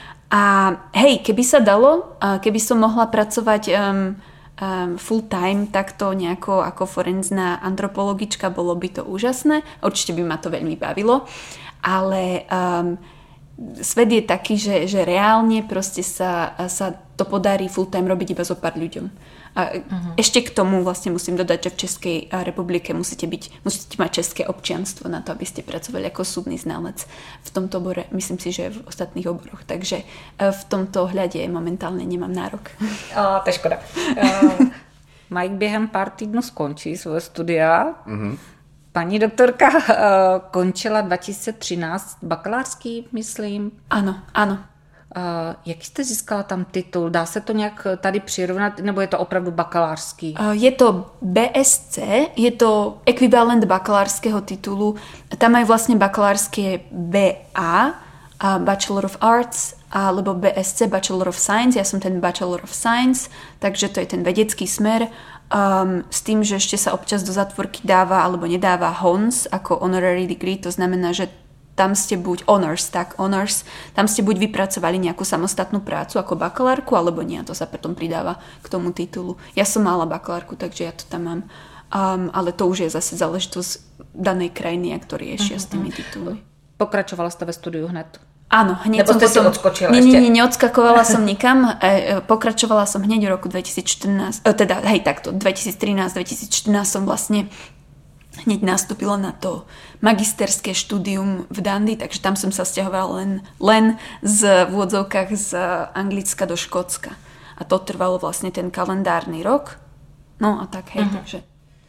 A hej, keby sa dalo, keby som mohla pracovať um, um, full time takto nejako ako forenzná antropologička, bolo by to úžasné. Určite by ma to veľmi bavilo. Ale um, svet je taký, že, že reálne proste sa, sa to podarí full time robiť iba zo pár ľuďom. A uh-huh. ešte k tomu vlastne musím dodať, že v Českej republike musíte, byť, musíte mať české občianstvo na to, aby ste pracovali ako súdny znalec v tomto obore, myslím si, že v ostatných oboroch. Takže v tomto ohľade momentálne nemám nárok. O, to je škoda. Uh, Mike během pár týdnů skončí svoje studia. Uh-huh. Paní doktorka uh, končila dva tisíce třináct bakalářský, myslím. Ano, ano. Uh, jaký jste získala tam titul? Dá se to nějak tady přirovnat, nebo je to opravdu bakalářský? Uh, je to bé es cé, je to ekvivalent bakalářského titulu. Tam majú vlastne bakalárske bé á, uh, Bachelor of Arts, alebo bé es cé, Bachelor of Science. Ja som ten Bachelor of Science, takže to je ten vedecký smer. Um, s tým, že ešte sa občas do zatvorky dáva alebo nedáva Hons ako honorary degree, to znamená, že tam ste buď honors, tak honors, tam ste buď vypracovali nejakú samostatnú prácu ako bakalárku, alebo nie, to sa potom pridáva k tomu titulu. Ja som mala bakalárku, takže ja to tam mám, um, ale to už je zase záležitosť danej krajiny, jak to riešia uh-huh. s tými titulmi. Pokračovala ste ve studiu hned? Áno, hneď Nebo som ste potom... si odskočila nie, ešte? Nie, nie, neodskakovala som nikam. E, pokračovala som hneď v roku dvetisícštrnásť, e, teda hej takto, dvetisíctrinásť dvetisícštrnásť som vlastne hneď nastúpila na to magisterské štúdium v Dundee, takže tam som sa sťahovala len, len z, v úvodzovkách z Anglicka do Škótska. A to trvalo vlastne ten kalendárny rok. No a tak hej, uh-huh. takže...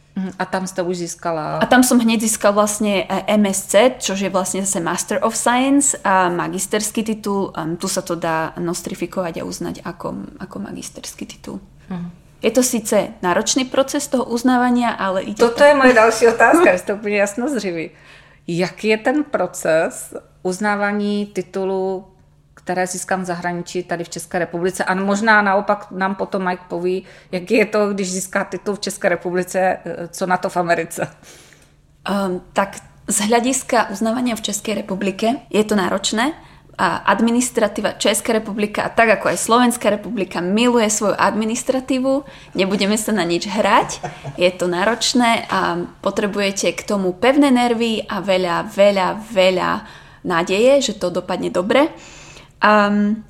A tam ste už získala... A tam som hneď získal vlastne em es cé, čo je vlastne zase Master of Science a magisterský titul. Um, tu sa to dá nostrifikovať a uznať ako, ako magisterský titul. Uh-huh. Je to síce náročný proces toho uznávania, ale ide... Toto je moje další otázka, vy jste úplně jasnozřiví. Jaký je ten proces uznávání titulu, které získám v zahraničí tady v České republice? A možná naopak nám potom Mike poví, jaký je to, když získá titul v České republice, co na to v Americe? Um, tak z hľadiska uznávania v Českej republike je to náročné. A administratíva Česká republika, a tak ako aj Slovenská republika, miluje svoju administratívu. Nebudeme sa na nič hrať. Je to náročné a potrebujete k tomu pevné nervy a veľa, veľa, veľa nádeje, že to dopadne dobre. Um,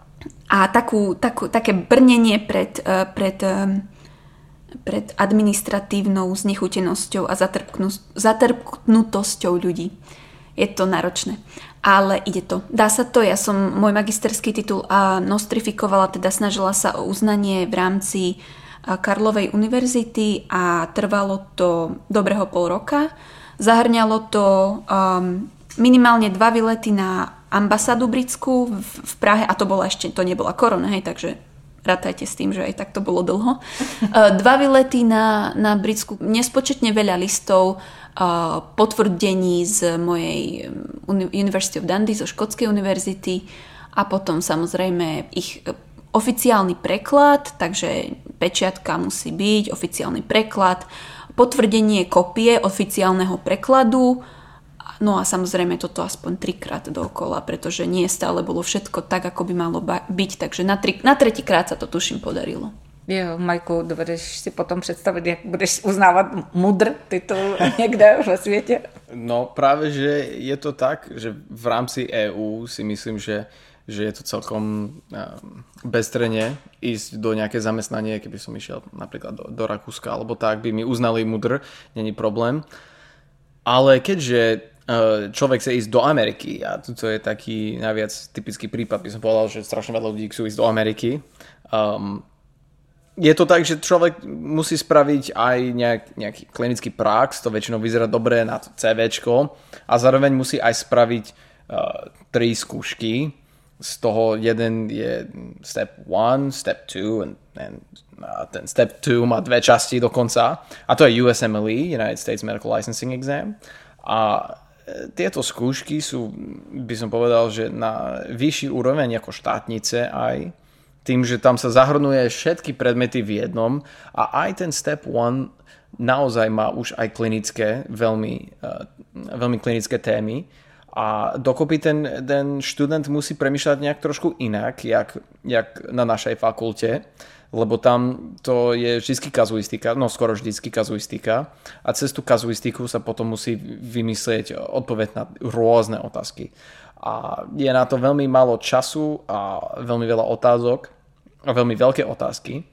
a takú, takú, také brnenie pred, uh, pred, um, pred administratívnou znechutenosťou a zatrpknutosťou ľudí. Je to náročné. Ale ide to. Dá sa to. Ja som môj magisterský titul a nostrifikovala, teda snažila sa o uznanie v rámci Karlovej univerzity a trvalo to dobrého pol roka. Zahrňalo to um, minimálne dva výlety na ambasádu britskú v, v Prahe a to bola ešte, to nebola korona, hej, takže rátajte s tým, že aj tak to bolo dlho. Dva výlety na, na britskú, nespočetne veľa listov, potvrdení z mojej University of Dundee, zo Škótskej univerzity a potom samozrejme ich oficiálny preklad, takže pečiatka musí byť, oficiálny preklad, potvrdenie kopie oficiálneho prekladu, no a samozrejme toto aspoň trikrát dookola, pretože nie stále bolo všetko tak, ako by malo byť, takže na, tri, na tretíkrát sa to tuším podarilo. Jo, Majku, dovedeš si potom představit, jak budeš uznávat mudr titul někde ve světě? No práve, že je to tak, že v rámci é ú si myslím, že, že je to celkom beztrenne ísť do nejaké zamestnanie, keby som išiel napríklad do, do Rakúska alebo tak, by mi uznali mudr, není problém. Ale keďže človek chce ísť do Ameriky a toto je taký najviac typický prípad, by som povedal, že strašne veľa ľudí chcú ísť do Ameriky. Um, Je to tak, že človek musí spraviť aj nejak, nejaký klinický prax, to väčšinou vyzerá dobre na to CVčko a zároveň musí aj spraviť uh, tri skúšky. Z toho jeden je step one, step two and, and uh, ten step two má dve časti dokonca a to je U S M L E, United States Medical Licensing Exam a tieto skúšky sú, by som povedal, že na vyšší úroveň ako štátnice aj tým, že tam sa zahrnuje všetky predmety v jednom a aj ten step one naozaj má už aj klinické, veľmi, uh, veľmi klinické témy A dokopy ten, ten študent musí premýšľať nejak trošku inak, jak, jak na našej fakulte, lebo tam to je vždycky kazuistika, no skoro vždycky kazuistika a cez tú kazuistiku sa potom musí vymyslieť odpoveď na rôzne otázky. A je na to veľmi málo času a veľmi veľa otázok a veľmi veľké otázky.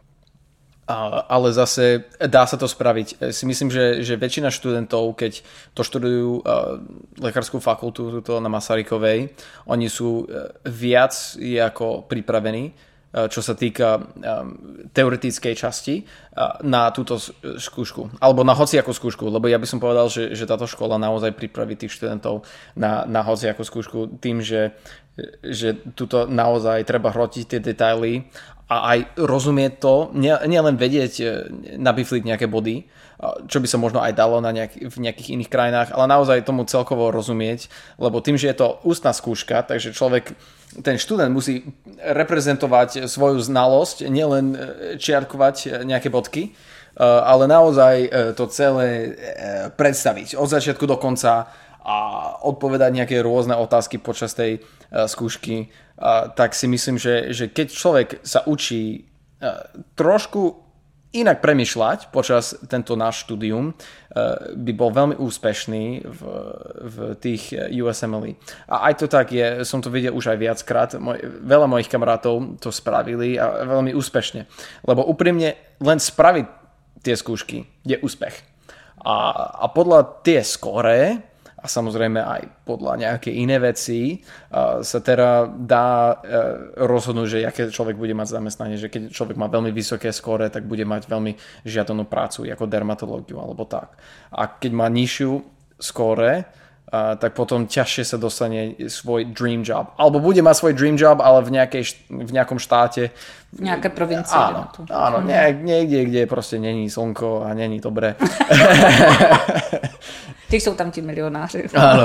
A, ale zase dá sa to spraviť. Si myslím, že, že väčšina študentov, keď to študujú uh, lekárskú fakultu tuto na Masarykovej, oni sú uh, viac ako pripravení, uh, čo sa týka um, teoretickej časti uh, na túto skúšku. Alebo na hociakú skúšku, lebo ja by som povedal, že, že táto škola naozaj pripraví tých študentov na, na hociakú skúšku tým, že, že tuto naozaj treba hrotiť tie detaily a aj rozumieť to, nielen vedieť, nabifliť nejaké body, čo by sa možno aj dalo na nejak, v nejakých iných krajinách, ale naozaj tomu celkovo rozumieť, lebo tým, že je to ústna skúška, takže človek, ten študent musí reprezentovať svoju znalosť, nielen čiarkovať nejaké bodky, ale naozaj to celé predstaviť od začiatku do konca a odpovedať nejaké rôzne otázky počas tej skúšky. Uh, tak si myslím, že, že keď človek sa učí uh, trošku inak premýšľať počas tento náš štúdium, uh, by bol veľmi úspešný v, v tých U S M L E. A aj to tak je, som to videl už aj viackrát, Moj, veľa mojich kamarátov to spravili a veľmi úspešne. Lebo úprimne len spraviť tie skúšky je úspech. A, a podľa tie skóre a samozrejme aj podľa nejaké iné veci uh, sa teda dá uh, rozhodnúť, že aké človek bude mať zamestnanie, že keď človek má veľmi vysoké skóre, tak bude mať veľmi žiadanú prácu ako dermatológiu alebo tak. A keď má nižšiu skóre, uh, tak potom ťažšie sa dostane svoj dream job. Alebo bude mať svoj dream job, ale v, nejakej, v nejakom štáte. V nejaké provincii. Áno, áno nie, niekde, kde proste není slnko a není dobré. Ty jsou tam ti milionáři. Áno.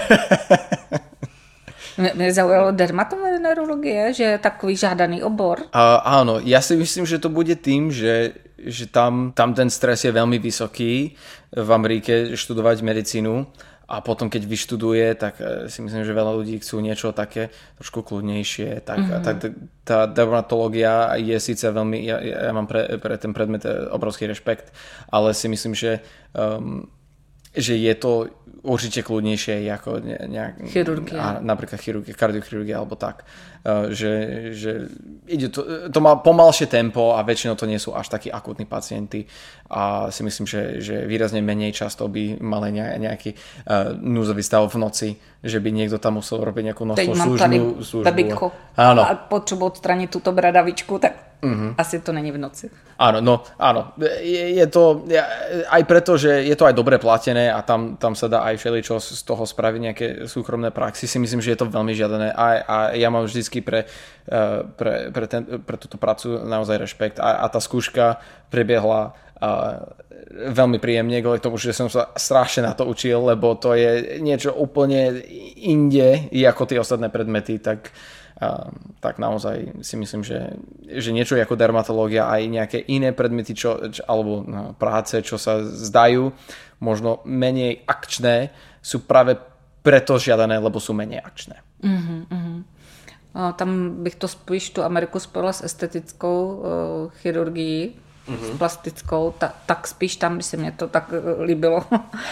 Mě zaujalo dermatovenerologie, že je takový žádaný obor. A, áno, ja si myslím, že to bude tým, že, že tam, tam ten stres je veľmi vysoký v Amerike študovať medicínu a potom keď vyštuduje, tak si myslím, že veľa ľudí chcú niečo také trošku kľudnejšie. Tak, mm-hmm. tak tá dermatológia je síce veľmi, ja, ja mám pre, pre ten predmet obrovský rešpekt, ale si myslím, že um, že je to určite kľudnejšie ako nejak, chirurgia. Napríklad chirurgia, kardiochirurgia alebo tak. Že, že ide to, to má pomalšie tempo a väčšinou to nie sú až takí akútni pacienti a si myslím, že, že výrazne menej často by mali nejaký uh, núzový stav v noci, že by niekto tam musel robiť nejakú nosnú službu. Teď mám tady bebíko a potřebuji odstranit tuto bradavičku, tak mm-hmm. asi to není v noci. Áno, no, áno. Je, je to aj preto, že je to aj dobre platené a tam, tam sa dá aj všeličo z toho spraviť, nejaké súkromné praxi. Si myslím, že je to veľmi žiadané a, a ja mám vždycky pre, pre, pre, ten, pre túto prácu naozaj rešpekt a, a tá skúška prebiehla a veľmi príjemne, kvôli tomu, že som sa strašne na to učil, lebo to je niečo úplne inde ako tie ostatné predmety, tak A, tak naozaj si myslím, že, že niečo ako dermatológia aj nejaké iné predmety čo, čo, alebo no, práce, čo sa zdajú možno menej akčné, sú práve preto žiadané, lebo sú menej akčné. Uh-huh, uh-huh. A tam bych to spíš tu Ameriku spojila s estetickou uh, chirurgií, uh-huh. s plastickou, ta, tak spíš tam by se mě to tak uh, líbilo.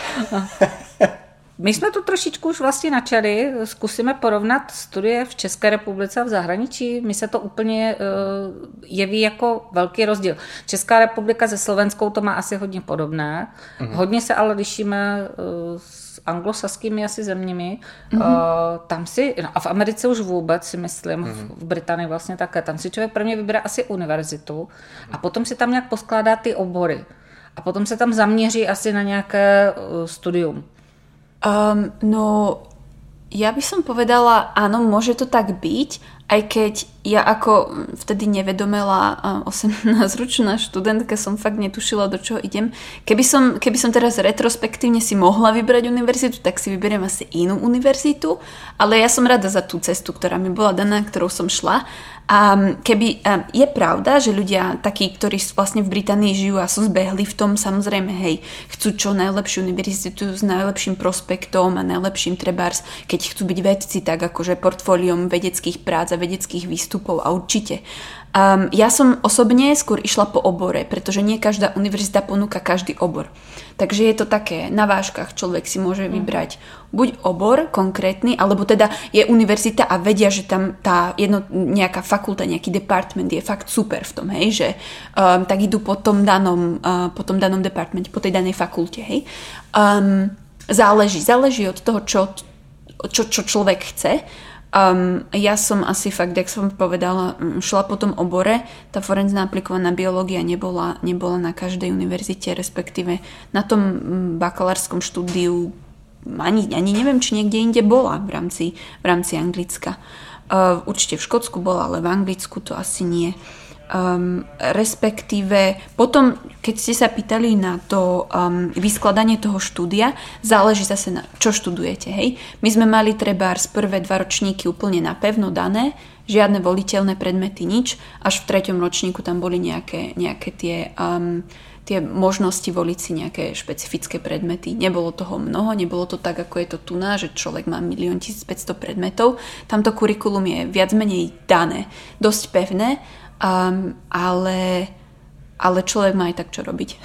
My jsme tu trošičku už vlastně načali, zkusíme porovnat studie v České republice a v zahraničí. Mi se to úplně uh, jeví jako velký rozdíl. Česká republika se Slovenskou to má asi hodně podobné. Mm-hmm. Hodně se ale lišíme uh, s anglosaskými asi zeměmi. Mm-hmm. Uh, tam si, no a v Americe už vůbec si myslím, mm-hmm. v Británii vlastně také, tam si člověk prvně vybere asi univerzitu a potom si tam nějak poskládá ty obory. A potom se tam zaměří asi na nějaké uh, studium. Um, no, ja by som povedala, áno, môže to tak byť, Aj keď ja ako vtedy nevedomela osemnásťročná študentka som fakt netušila, do čoho idem. Keby som, keby som teraz retrospektívne si mohla vybrať univerzitu, tak si vyberiem asi inú univerzitu, ale ja som rada za tú cestu, ktorá mi bola daná, ktorou som šla. A keby, a je pravda, že ľudia takí, ktorí vlastne v Británii žijú a sú zbehli v tom, samozrejme, hej, chcú čo najlepšiu univerzitu s najlepším prospektom a najlepším trebárs, keď chcú byť vedci, tak akože portfóliom vedeckých prác a vedeckých výstupov a určite. Um, ja som osobne skôr išla po obore, pretože nie každá univerzita ponúka každý obor. Takže je to také, na vážkach človek si môže vybrať buď obor konkrétny, alebo teda je univerzita a vedia, že tam tá jedno, nejaká fakulta, nejaký department je fakt super v tom, hej, že um, tak idú po tom danom, uh, po tom danom departmente, po tej danej fakulte, hej. Um, záleží, záleží od toho, čo, čo, čo človek chce. Um, ja som asi fakt, jak som povedala, šla po tom obore. Tá forenzná aplikovaná biológia nebola, nebola na každej univerzite, respektíve na tom bakalárskom štúdiu ani, ani neviem, či niekde inde bola v rámci, v rámci Anglicka. Uh, určite v Škótsku bola, ale v Anglicku to asi nie. Um, respektíve potom, keď ste sa pýtali na to um, vyskladanie toho štúdia, záleží zase na čo študujete, hej. My sme mali trebárs prvé dva ročníky úplne napevno dané, žiadne voliteľné predmety, nič, až v treťom ročníku tam boli nejaké, nejaké tie, um, tie možnosti voliť si nejaké špecifické predmety. Nebolo toho mnoho, nebolo to tak, ako je to tu na, že človek má milión tisícpäťsto predmetov. Tamto kurikulum je viac menej dané, dosť pevné, Um, ale, ale človek má aj tak čo robiť.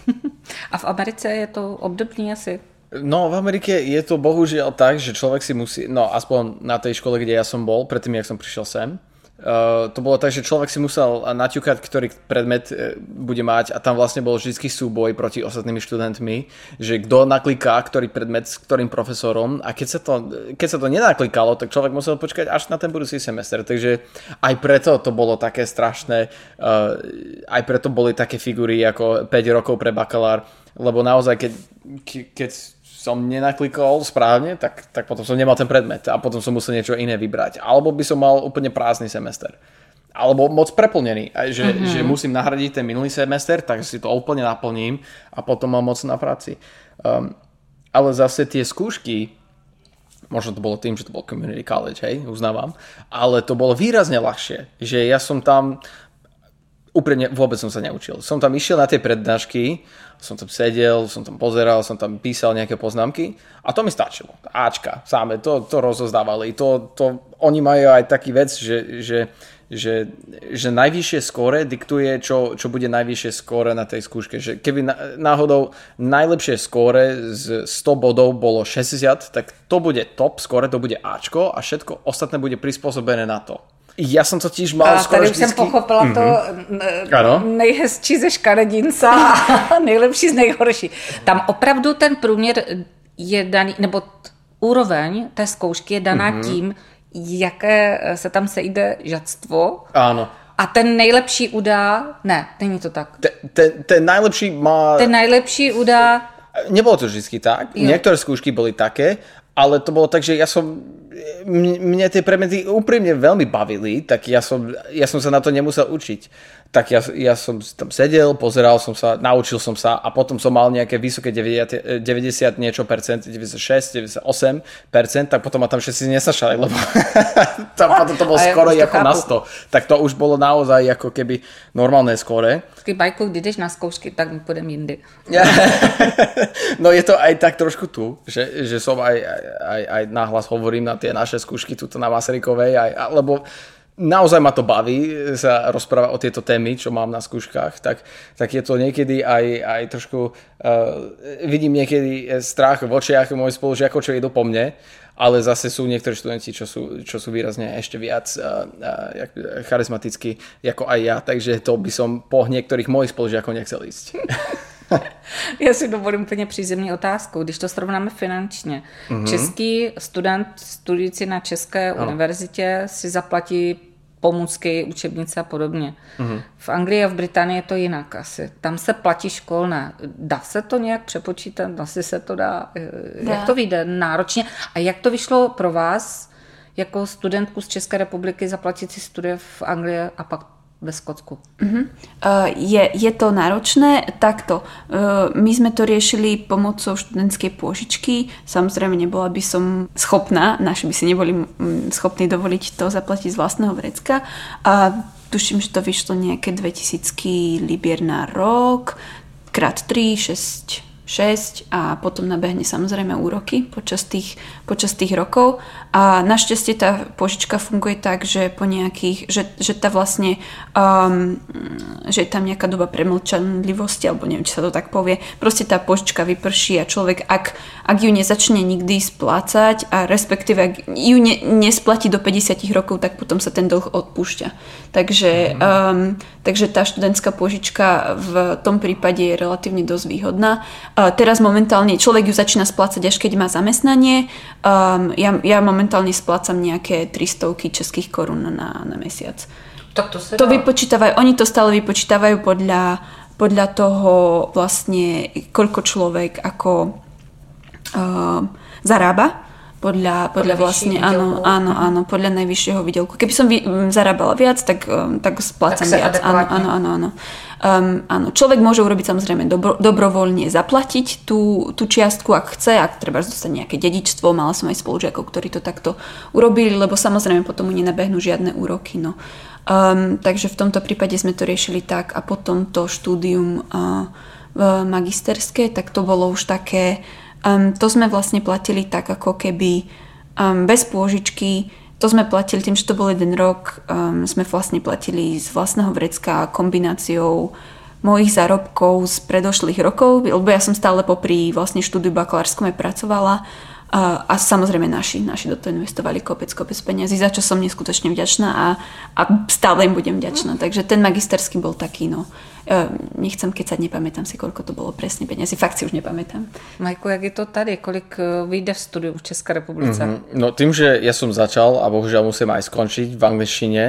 A v Americe je to obdobný asi? No, v Amerike je to bohužiaľ tak, že človek si musí, no aspoň na tej škole, kde ja som bol, predtým, jak som prišiel sem, Uh, to bolo tak, že človek si musel naťukať, ktorý predmet uh, bude mať a tam vlastne bol vždycky súboj proti ostatnými študentmi, že kto nakliká ktorý predmet s ktorým profesorom a keď sa to, keď sa to nenaklikalo, tak človek musel počkať až na ten budúci semester. Takže aj preto to bolo také strašné, uh, aj preto boli také figúry ako päť rokov pre bakalár, lebo naozaj keď, keď som nenaklikol správne, tak, tak potom som nemal ten predmet a potom som musel niečo iné vybrať. Alebo by som mal úplne prázdny semester. Alebo moc preplnený, že, mm-hmm. že musím nahradiť ten minulý semester, tak si to úplne naplním a potom mám moc na práci. Um, ale zase tie skúšky, možno to bolo tým, že to bol community college, hej, uznávam, ale to bolo výrazne ľahšie, že ja som tam úprimne vôbec som sa neučil. Som tam išiel na tie prednášky, som tam sedel, som tam pozeral, som tam písal nejaké poznámky a to mi stačilo. Ačka, sáme, to, to rozozdávali. To, to, oni majú aj taký vec, že, že, že, že najvyššie skóre diktuje, čo, čo bude najvyššie skóre na tej skúške. Že keby náhodou najlepšie skóre z sto bodov bolo šesťdesiat, tak to bude top skóre, to bude Ačko a všetko ostatné bude prispôsobené na to. Já jsem totiž mal skoro vždycky... tady už jsem pochopila mm-hmm. to n- nejhezčí ze škaredinca a nejlepší z nejhorší. Tam opravdu ten průměr je daný, nebo t- úroveň té zkoušky je daná mm-hmm. tím, jaké se tam sejde žadstvo. Ano. A ten nejlepší udá... Ne, není to tak. Ten, ten, ten najlepší má... Ten najlepší udá... Nebolo to vždycky tak. Jo. Niektoré skúšky boli také, ale to bolo tak, že ja som... Mne tie predmety úprimne veľmi bavili, tak ja som, ja som sa na to nemusel učiť. Tak ja, ja som tam sedel, pozeral som sa, naučil som sa a potom som mal nejaké vysoké deväťdesiat, deväťdesiat niečo percent, deväťdesiatšesť, deväťdesiatosem percent, tak potom ma tam všetci nesašali, lebo tam potom to bolo skoro ako na sto. Tak to už bolo naozaj ako keby normálne skóre. Bajku, když jdeš na zkoušky, tak pôjdem jindy. No je to aj tak trošku tu, že, že som aj, aj, aj nahlas hovorím na tie naše skúšky tuto na Masarykovej, aj, lebo naozaj ma to baví sa rozprávať o tieto témy, čo mám na skúškach, tak, tak je to niekedy aj, aj trošku, uh, vidím niekedy strach v očiach mojich spolužiakov, čo idú po mne, ale zase sú niektorí študenti, čo sú, čo sú výrazne ešte viac uh, uh, charizmatickí ako aj ja, takže to by som po niektorých mojich spolužiakov nechcel ísť. Já si dovolím úplně přízemní otázku. Když to srovnáme finančně, mm-hmm. český student studující na české no. univerzitě si zaplatí pomůcky, učebnice a podobně. Mm-hmm. V Anglii a v Británii je to jinak asi. Tam se platí školné. Dá se to nějak přepočítat? Asi se to dá. dá. Jak to vyjde náročně? A jak to vyšlo pro vás? jako studentku z České republiky zaplatit si studie v Anglii a pak ve Skotsku? Uh-huh. Uh, je, je to náročné? Takto. Uh, my sme to riešili pomocou študentskej pôžičky. Samozrejme, nebola by som schopná, naši by si neboli schopní dovoliť to zaplatiť z vlastného vrecka. A tuším, že to vyšlo nejaké dvetisíc libier na rok, krát tri, šesť, šesť a potom nabehne samozrejme úroky počas tých, počas tých rokov. A našťastie tá požička funguje tak, že po nejakých, že, že tá vlastne um, že je tam nejaká doba premlčanlivosti, alebo neviem, či sa to tak povie. Proste tá požička vyprší a človek, ak, ak ju nezačne nikdy splácať a respektíve ak ju ne, nesplatí do päťdesiat rokov, tak potom sa ten dlh odpúšťa. Takže, um, takže tá študentská požička v tom prípade je relatívne dosť výhodná. Uh, teraz momentálne človek ju začína splácať až keď má zamestnanie. Um, ja, ja momentálne splácam nejaké trystovky českých korún na, na mesiac. Tak to sa to vypočítavajú, oni to stále vypočítavajú podľa, podľa toho vlastne, koľko človek ako uh, zarába. Podľa, podľa vlastne, áno, áno, áno, podľa najvyššieho výdelku. Keby som vy, m, zarábala viac, tak, um, tak splácam tak viac. Áno, áno, áno, áno. Um, áno. Človek môže urobiť samozrejme dobro, dobrovoľne zaplatiť tú, tú čiastku, ak chce, ak treba dostať nejaké dedičstvo. Mala som aj spolužiakov, ktorí to takto urobili, lebo samozrejme potom mu nenabehnú žiadne úroky. No. Um, takže v tomto prípade sme to riešili tak a potom to štúdium uh, magisterské, tak to bolo už také. Um, to sme vlastne platili tak, ako keby um, bez pôžičky. To sme platili tým, že to bol jeden rok. Um, sme vlastne platili z vlastného vrecka kombináciou mojich zárobkov z predošlých rokov, lebo ja som stále popri vlastne štúdiu bakalárskom aj pracovala. A, a samozrejme naši, naši do toho investovali kopec, kopec peniazy, za čo som neskutočne vďačná a, a stále im budem vďačná. Takže ten magisterský bol taký, no, nechcem kecať, nepamätám si, koľko to bolo presne peniazy, fakt si už nepamätám. Majko, jak je to tady? Kolik vyjde v studiu v České republice? Mm-hmm. No tým, že ja som začal a bohužiaľ musím aj skončiť v angličtine,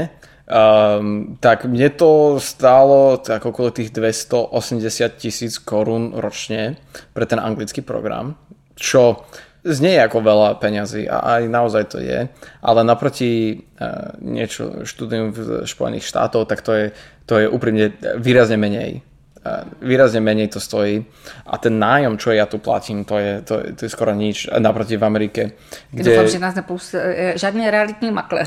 um, tak mne to stálo tak okolo tých dvestoosemdesiat tisíc korún ročne pre ten anglický program, čo znie ako veľa peňazí a aj naozaj to je, ale naproti uh, niečo štúdium v Spojených štátoch, tak to je, to je úprimne výrazne menej. Uh, výrazne menej to stojí a ten nájom, čo ja tu platím, to je, to, to je skoro nič naproti v Amerike. Kde... Dúfam, že nás nepustí žádný realitní makléř.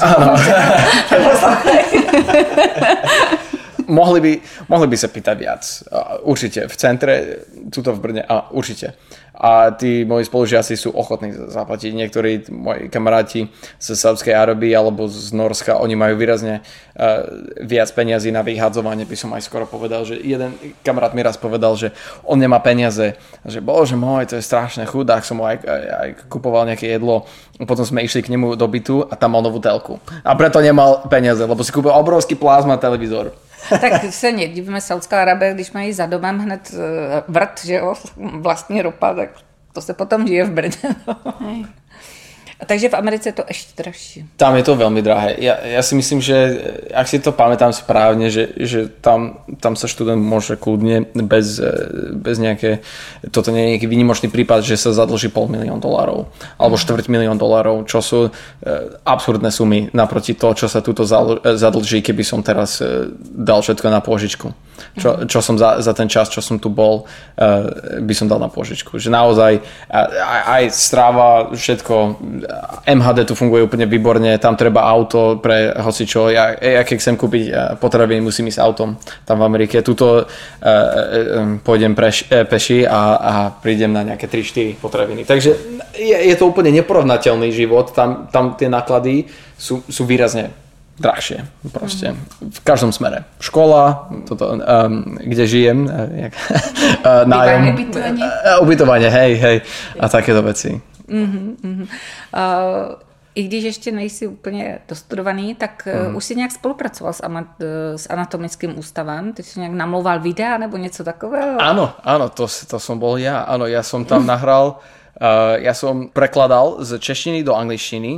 mohli, by, mohli by sa pýtať viac. Uh, určite. V centre, tuto v Brne, a určite. A tí moji spolužiaci sú ochotní zaplatiť. Niektorí moji kamaráti z Saudskej Arábie alebo z Norska, oni majú výrazne uh, viac peniazy na vyhadzovanie, by som aj skoro povedal, že jeden kamarát mi raz povedal, že on nemá peniaze, že bože môj, to je strašné, chudák, som mu aj, aj, aj kupoval nejaké jedlo, potom sme išli k nemu do bytu a tam mal novú telku. A preto nemal peniaze, lebo si kúpil obrovský plazma televízor. Tak se nedivíme, Saudská Arábie, když mají za domem hned vrt, že jo, vlastní ropa, tak to se potom žije v Brně. No. A takže v Americe je to ešte drahšie. Tam je to veľmi drahé. Ja, ja si myslím, že ak si to pamätám správne, že, že tam, tam sa študent môže kľudne bez, bez nejaké, toto nie je nejaký výnimočný prípad, že sa zadlží pol milión dolárov alebo štvrť milión dolárov, čo sú e, absurdné sumy naproti to, čo sa tuto zadlží, keby som teraz e, dal všetko na pôžičku. Čo, čo som za, za ten čas, čo som tu bol, e, by som dal na pôžičku. Že naozaj aj, aj stráva, všetko, em há dé tu funguje úplne výborne, tam treba auto pre hocičo. Ja, ja keď chcem kúpiť potraviny, musím ísť autom tam v Amerike. Tuto uh, uh, pôjdem preš, uh, peši a, a prídem na nejaké tri štyri potraviny. Takže je, je to úplne neporovnateľný život. Tam, tam tie náklady sú, sú výrazne drahšie. Proste. V každom smere. Škola, toto, um, kde žijem, jak, uh, nájom, ubytovanie. Uh, ubytovanie, hej, hej. A takéto veci. Uh-huh, uh-huh. Uh, I když ještě nejsi úplně dostudovaný, tak uh, už si nějak spolupracoval s, ama- s anatomickým ústavem? Ty si nějak namlouval videa nebo něco takového? Áno, áno, to, to som bol ja. Áno, ja som tam nahral, uh, ja som prekladal z češtiny do angličtiny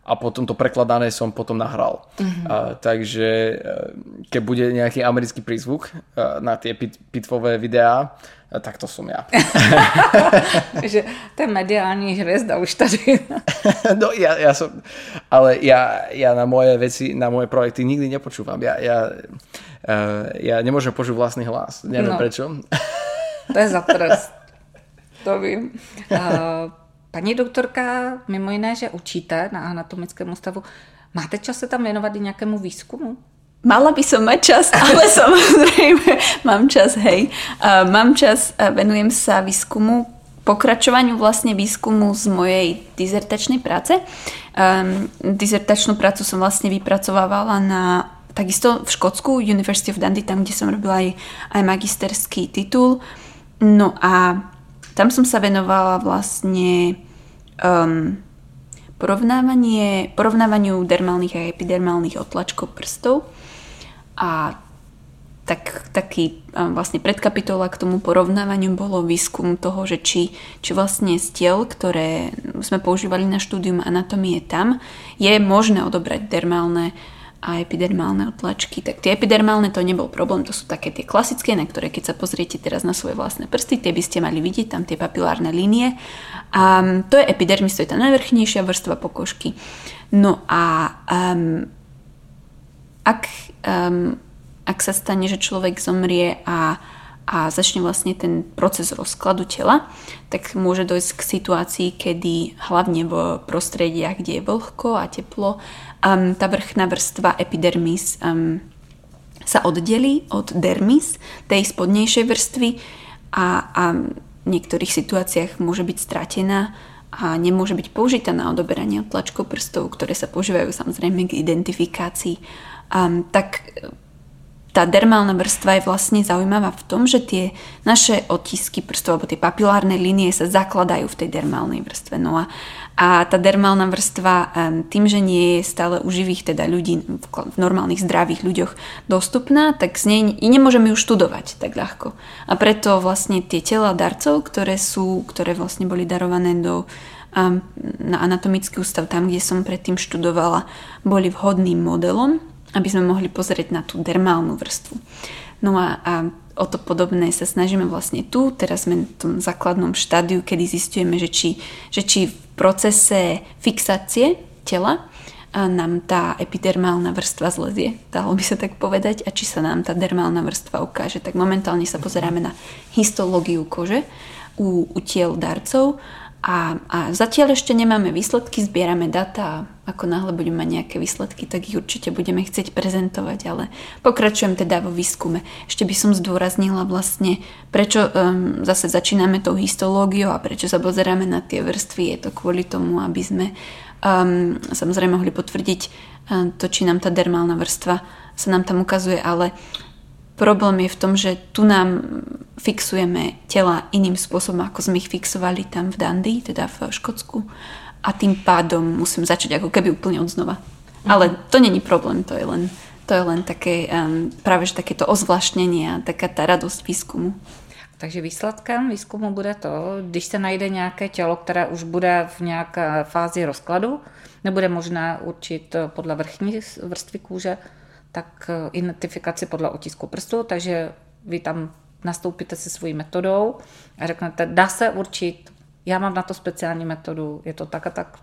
a potom to prekladané som potom nahral. Mm-hmm. A, takže keď bude nejaký americký prízvuk na tie pit, pitvové videá, tak to som ja. Že ten mediální hvězda už tady. No ja, ja som, ale ja, ja na moje veci, na moje projekty nikdy nepočúvam. Ja, ja, ja nemôžem počuť vlastný hlas. Neviem no. prečo. To je za trest. To vím. Paní doktorka, mimo jiné, že učíte na anatomickém ústavu, máte čas se tam věnovat i nějakému výzkumu? Mala by som mať čas, ale samozrejme mám čas, hej. Uh, mám čas, uh, venujem sa výskumu, pokračovaniu vlastne výskumu z mojej dizertačnej práce. Um, dizertačnú prácu som vlastne vypracovávala na takisto v Škótsku, University of Dundee, tam, kde som robila aj, aj magisterský titul. No a tam som sa venovala vlastne um, porovnávanie, porovnávaniu dermálnych a epidermálnych otlačkov prstov. A tak, taký vlastne predkapitola k tomu porovnávaniu bolo výskum toho, že či, či vlastne z tiel, ktoré sme používali na štúdium anatómie tam, je možné odobrať dermálne a epidermálne otlačky. Tak tie epidermálne to nebol problém, to sú také tie klasické, na ktoré keď sa pozriete teraz na svoje vlastné prsty, tie by ste mali vidieť, tam tie papilárne línie. A to je epidermis, to je tá najvrchnejšia vrstva pokožky. No a um, ak, um, ak sa stane, že človek zomrie a, a začne vlastne ten proces rozkladu tela, tak môže dojsť k situácii, kedy hlavne v prostrediach, kde je vlhko a teplo, um, tá vrchná vrstva epidermis um, sa oddelí od dermis, tej spodnejšej vrstvy a, a v niektorých situáciách môže byť stratená a nemôže byť použitá na odoberanie otlačkov prstov, ktoré sa používajú samozrejme k identifikácii. Um, tak tá dermálna vrstva je vlastne zaujímavá v tom, že tie naše otisky prstov alebo tie papilárne línie sa zakladajú v tej dermálnej vrstve. No a, a tá dermálna vrstva um, tým, že nie je stále u živých teda ľudí, v, v normálnych zdravých ľuďoch dostupná, tak z nej nemôžeme ju študovať tak ľahko. A preto vlastne tie tela darcov, ktoré sú, ktoré vlastne boli darované do um, na anatomický ústav, tam, kde som predtým študovala, boli vhodným modelom, aby sme mohli pozrieť na tú dermálnu vrstvu. No a, a o to podobné sa snažíme vlastne tu. Teraz sme v tom základnom štádiu, kedy zistujeme, že či, že či v procese fixácie tela nám tá epidermálna vrstva zlezie, dalo by sa tak povedať, a či sa nám tá dermálna vrstva ukáže. Tak momentálne sa pozeráme na histológiu kože u, u tiel darcov a, a zatiaľ ešte nemáme výsledky, zbierame data a ako náhle budeme mať nejaké výsledky, tak ich určite budeme chcieť prezentovať, ale pokračujem teda vo výskume. Ešte by som zdôraznila vlastne, prečo um, zase začíname tou histológiou a prečo sa pozeráme na tie vrstvy. Je to kvôli tomu, aby sme um, samozrejme mohli potvrdiť um, to, či nám tá dermálna vrstva sa nám tam ukazuje, ale problém je v tom, že tu nám fixujeme tela iným spôsobom, ako sme ich fixovali tam v Dundee, teda v Škótsku. A tým pádom musím začať ako keby úplne od znova. Mm. Ale to není problém, to je len, to je len také, um, práve že takéto ozvláštnenie a taká tá radosť výzkumu. Takže výsledkem výzkumu bude to, když se najde nějaké tělo, které už bude v nějaké fázi rozkladu, nebude možné určit podle vrchní vrstvy kůže, tak identifikaci podle otisku prstu, takže vy tam nastoupíte se svojí metodou a řeknete, dá se určit, já mám na to speciální metodu, je to tak a tak.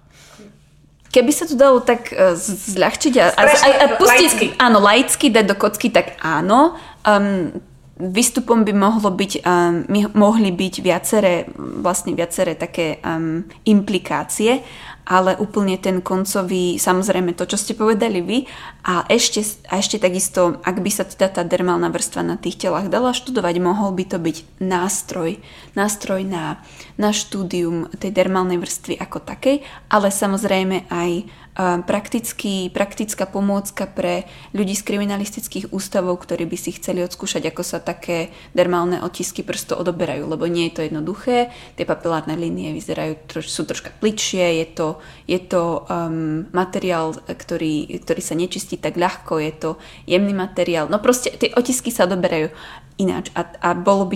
Keby sa to dalo tak uh, zľahčiť a, a, a, a pustiť, laicky. Áno, laicky dať do kocky, tak áno. Um, výstupom by mohlo byť, um, mohli byť viaceré, vlastne viaceré také um, implikácie, ale úplne ten koncový, samozrejme to, čo ste povedali vy, a ešte, a ešte takisto, ak by sa teda tá dermálna vrstva na tých telách dala študovať, mohol by to byť nástroj, nástroj na, na štúdium tej dermálnej vrstvy ako takej, ale samozrejme aj Praktický, praktická pomôcka pre ľudí z kriminalistických ústavov, ktorí by si chceli odskúšať, ako sa také dermálne otisky prstov odoberajú, lebo nie je to jednoduché, tie papilárne línie vyzerajú, troš, sú troška plitšie, je to, je to um, materiál, ktorý, ktorý sa nečistí tak ľahko, je to jemný materiál, no proste tie otisky sa odoberajú ináč a, a bolo by to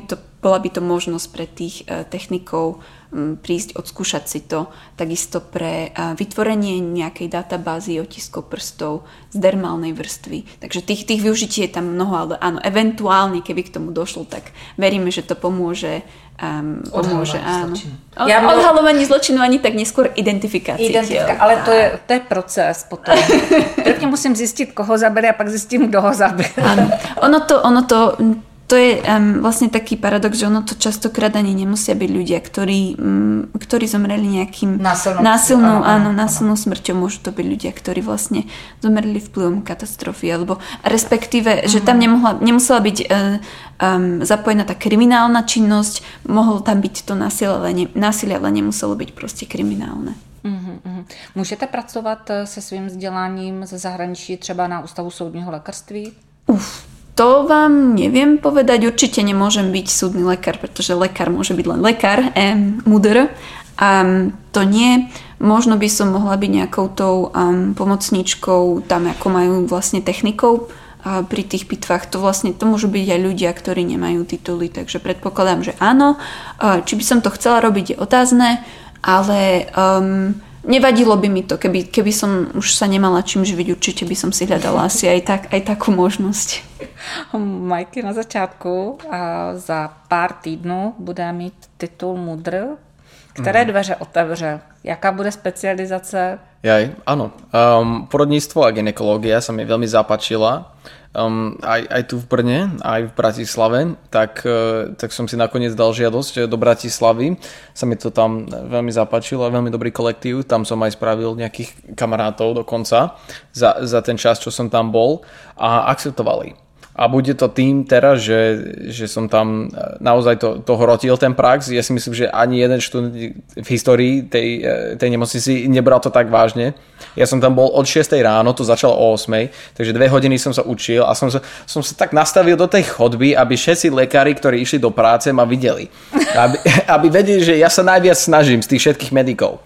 bola by to možnosť pre tých uh, technikov um, prísť, odskúšať si to, takisto pre uh, vytvorenie nejakej databázy otiskov prstov z dermálnej vrstvy. Takže tých, tých využití je tam mnoho, ale áno, eventuálne, keby k tomu došlo, tak veríme, že to pomôže Um, pomôže, áno. Od, ja mal... Odhalovanie zločinu ani tak neskôr identifikácie. Identifika, ale to je, to je proces potom. Prvně musím zjistit, koho zabili a pak zjistím, kdo ho zabil. Áno. Ono to, ono to, to je um, vlastne taký paradox, že ono to častokrát ani nemusia byť ľudia, ktorí, um, ktorí zomreli nejakým násilnou, násilnou, áno, áno, násilnou smrťou. Môžu to byť ľudia, ktorí vlastne zomreli vplyvom katastrofy, alebo respektíve, uh-huh. že tam nemohla, nemusela byť uh, um, zapojená tá kriminálna činnosť, mohlo tam byť to násilie, ale, ne, násilie, ale nemuselo byť proste kriminálne. Uh-huh, uh-huh. Můžete pracovat se svým vzděláním ze zahraničí třeba na Ústavu soudního lékařství? Uf. To vám neviem povedať, určite nemôžem byť súdny lekár, pretože lekár môže byť len lekár, um, mudr. A um, to nie, možno by som mohla byť nejakou tou um, pomocníčkou tam, ako majú vlastne technikou uh, pri tých pitvách. To vlastne, to môžu byť aj ľudia, ktorí nemajú tituly, takže predpokladám, že áno. Uh, či by som to chcela robiť, je otázne, ale... Um, Nevadilo by mi to, keby, keby som už sa nemala čím živiť, určite by som si hľadala asi aj, tak, aj takú možnosť. Majky na začátku a za pár týdnů bude mít titul mudr. Které dveře otevře? Jaká bude specializace? Jaj, áno. Um, porodníctvo a gynekológia sa mi veľmi zapáčila. Um, aj, aj tu v Brne, aj v Bratislave, tak, uh, tak som si nakoniec dal žiadosť do Bratislavy. Sa mi to tam veľmi zapáčilo, veľmi dobrý kolektív. Tam som aj spravil nejakých kamarátov dokonca za, za ten čas, čo som tam bol a akceptovali. A bude to tým teraz, že, že som tam naozaj to, to hrotil ten prax. Ja si myslím, že ani jeden študent v histórii tej, tej nemocnici nebral to tak vážne. Ja som tam bol od šiestej ráno, to začalo o ôsmej, takže dve hodiny som sa učil a som sa, som sa tak nastavil do tej chodby, aby všetci lekári, ktorí išli do práce, ma videli. Aby, aby vedeli, že ja sa najviac snažím z tých všetkých medikov.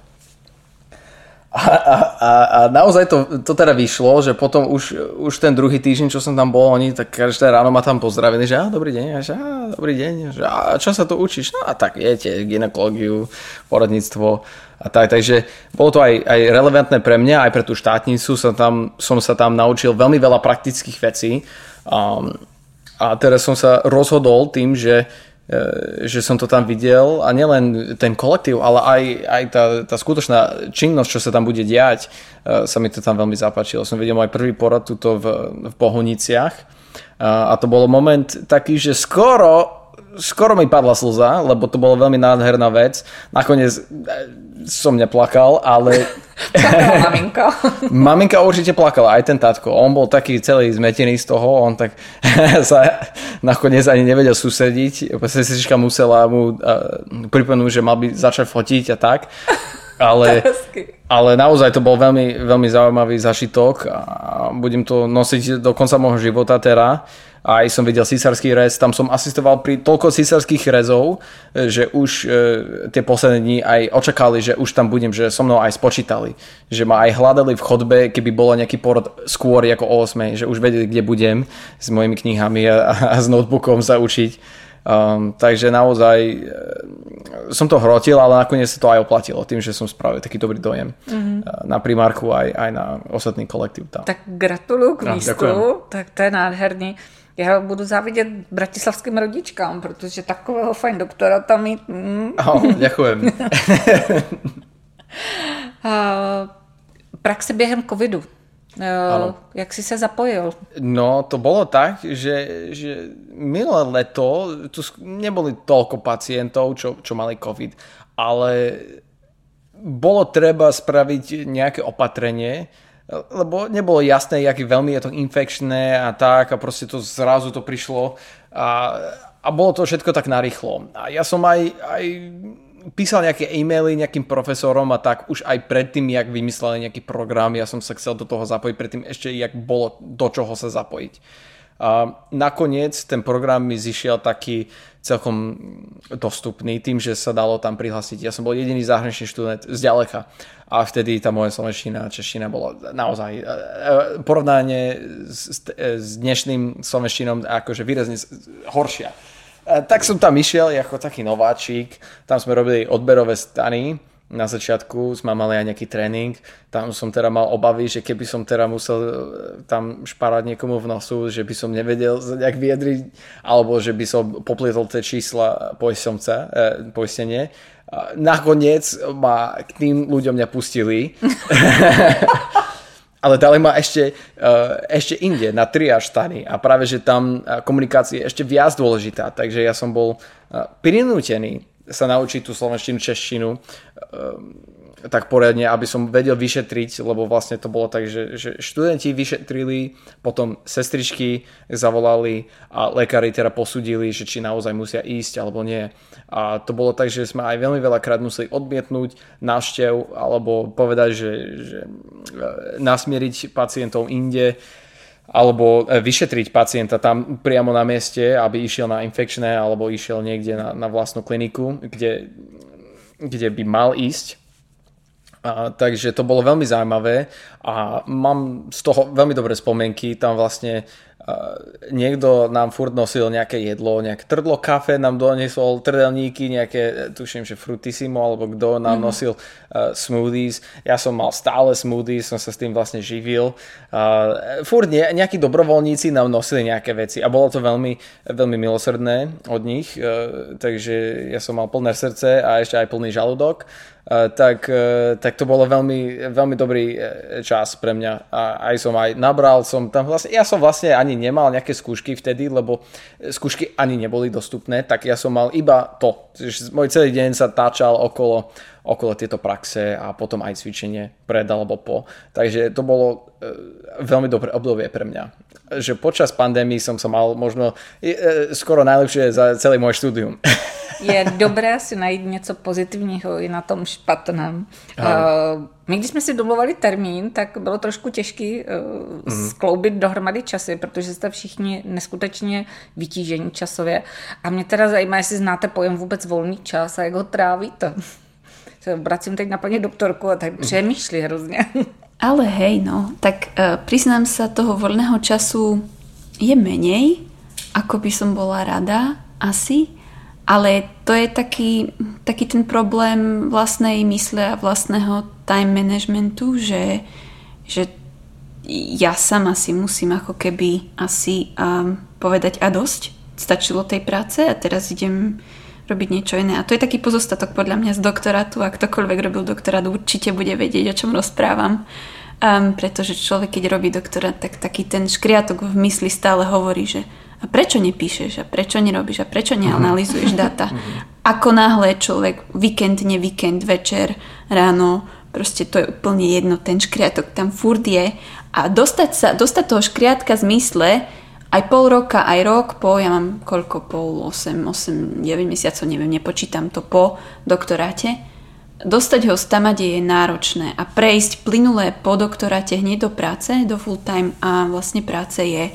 A, a, a naozaj to, to teda vyšlo, že potom už, už ten druhý týždeň, čo som tam bol, oni tak každé ráno ma tam pozdravili, že á, dobrý deň, a že á, dobrý deň, že á, čo sa tu učíš? No a tak viete, gynekológiu, porodníctvo a tak, takže bolo to aj, aj relevantné pre mňa, aj pre tú štátnicu som, tam, som sa tam naučil veľmi veľa praktických vecí um, a teraz som sa rozhodol tým, že že som to tam videl a nielen ten kolektív, ale aj, aj tá, tá skutočná činnosť, čo sa tam bude diať, sa mi to tam veľmi zapáčilo. Som videl môj prvý porad tuto v, v Bohuniciach a to bol moment taký, že skoro skoro mi padla slza, lebo to bolo veľmi nádherná vec. Nakoniec som neplakal, ale... Plakala maminka. Maminka určite plakala, aj ten tatko. On bol taký celý zmetený z toho, on tak sa nakoniec ani nevedel sústrediť. Sestrička musela mu pripomenúť, že mal by začať fotiť a tak. Ale, ale naozaj to bol veľmi, veľmi zaujímavý zažitok a budem to nosiť do konca môjho života teda. Aj som videl císarský rez, tam som asistoval pri toľko císarských rezov, že už e, tie posledné dni aj očakali, že už tam budem, že so mnou aj spočítali. Že ma aj hľadali v chodbe, keby bolo nejaký porod skôr ako o ôsmej, že už vedeli, kde budem s mojimi knihami a, a s notebookom sa učiť. Um, takže naozaj e, som to hrotil, ale nakoniec sa to aj oplatilo tým, že som spravil taký dobrý dojem mm-hmm. na primárku aj, aj na ostatný kolektív tam. Tak gratuluju k místu, no, tak to je nádherný. Já budu závidět bratislavským rodičkám, protože takového fajn doktora tam mít. Mm. Oh, děkujem. Praxe během covidu. Ano. Jak jsi se zapojil? No, to bolo tak, že, že minulé leto tu neboli toľko pacientov, čo, čo mali covid, ale bolo treba spraviť nejaké opatrenie, lebo nebolo jasné, jak veľmi je to infekčné a tak a proste to zrazu to prišlo a, a bolo to všetko tak narýchlo. A ja som aj, aj písal nejaké e-maily nejakým profesorom a tak už aj predtým, jak vymysleli nejaký program, ja som sa chcel do toho zapojiť predtým ešte, jak bolo do čoho sa zapojiť. A nakoniec ten program mi zišiel taký celkom dostupný tým, že sa dalo tam prihlásiť. Ja som bol jediný zahraničný študent zďaleka a vtedy tá moja slovenština a čeština bola naozaj porovnanie s, s dnešným slovenštinom akože výrazne horšia. Tak som tam išiel ako taký nováčik, tam sme robili odberové stany, na začiatku sme mali aj nejaký tréning, tam som teda mal obavy, že keby som teda musel tam šparať niekomu v nosu, že by som nevedel nejak vyjadriť, alebo že by som poplietol tie čísla poisťovca, eh, poistenie. Nakoniec ma k tým ľuďom nepustili. Ale dali ma ešte, uh, ešte inde, na triáž stany a práve, že tam komunikácia je ešte viac dôležitá, takže ja som bol uh, prinútený sa naučiť tú slovenštinu, češtinu uh, tak poriadne, aby som vedel vyšetriť, lebo vlastne to bolo tak, že, že študenti vyšetrili, potom sestričky zavolali a lekári teda posúdili, že či naozaj musia ísť alebo nie. A to bolo tak, že sme aj veľmi veľakrát museli odmietnúť návštev alebo povedať, že, že nasmieriť pacientov inde alebo vyšetriť pacienta tam priamo na mieste, aby išiel na infekčné alebo išiel niekde na, na vlastnú kliniku, kde, kde by mal ísť. A, takže to bolo veľmi zaujímavé a mám z toho veľmi dobré spomienky. Tam vlastne a, niekto nám furt nosil nejaké jedlo, nejaké trdlo kafe nám doniesol, trdelníky, nejaké, tuším, že frutissimo, alebo kto nám mm-hmm. nosil uh, smoothies. Ja som mal stále smoothies, som sa s tým vlastne živil. Uh, furt nie, nejakí dobrovoľníci nám nosili nejaké veci a bolo to veľmi, veľmi milosrdné od nich, uh, takže ja som mal plné srdce a ešte aj plný žalúdok. Uh, tak, uh, tak to bolo veľmi, veľmi dobrý čas pre mňa a aj som aj nabral som tam vlastne, ja som vlastne ani nemal nejaké skúšky vtedy, lebo skúšky ani neboli dostupné, tak ja som mal iba to, že môj celý deň sa táčal okolo, okolo tieto praxe a potom aj cvičenie pred alebo po, takže to bolo uh, veľmi dobré obdobie pre mňa, že počas pandémie som sa mal možno uh, skoro najlepšie za celý môj štúdium. Je dobré si najít něco pozitivního i na tom špatném. Uh, my, když jsme si domluvali termín, tak bylo trošku těžké uh, mm. skloubit dohromady časy, protože jste všichni neskutečně vytížení časově. A mě teda zajímá, jestli znáte pojem vůbec volný čas a jak ho trávíte. Se obracím teď na paní doktorku a tak mm. přemýšlí hrozně. Ale hej, no, tak uh, priznám sa, toho voľného času je menej, ako by som bola rada, asi. Ale to je taký, taký ten problém vlastnej mysle a vlastného time managementu, že, že ja sama si musím ako keby asi um, povedať a dosť. Stačilo tej práce a teraz idem robiť niečo iné. A to je taký pozostatok podľa mňa z doktorátu. A ktokoľvek robil doktorát, určite bude vedieť, o čom rozprávam. Um, pretože človek, keď robí doktorát, tak taký ten škriatok v mysli stále hovorí, že a prečo nepíšeš, a prečo nerobíš, a prečo neanalizuješ data. Ako náhle človek víkend, ne víkend, večer, ráno, proste to je úplne jedno, ten škriatok tam furt je. A dostať sa, dostať toho škriatka z mysle, aj pol roka, aj rok po, ja mám koľko, pol, osem, osem, deväť mesiacov, neviem, nepočítam to po doktoráte, dostať ho z tamade je náročné a prejsť plynulé po doktoráte hneď do práce, do full time a vlastne práce je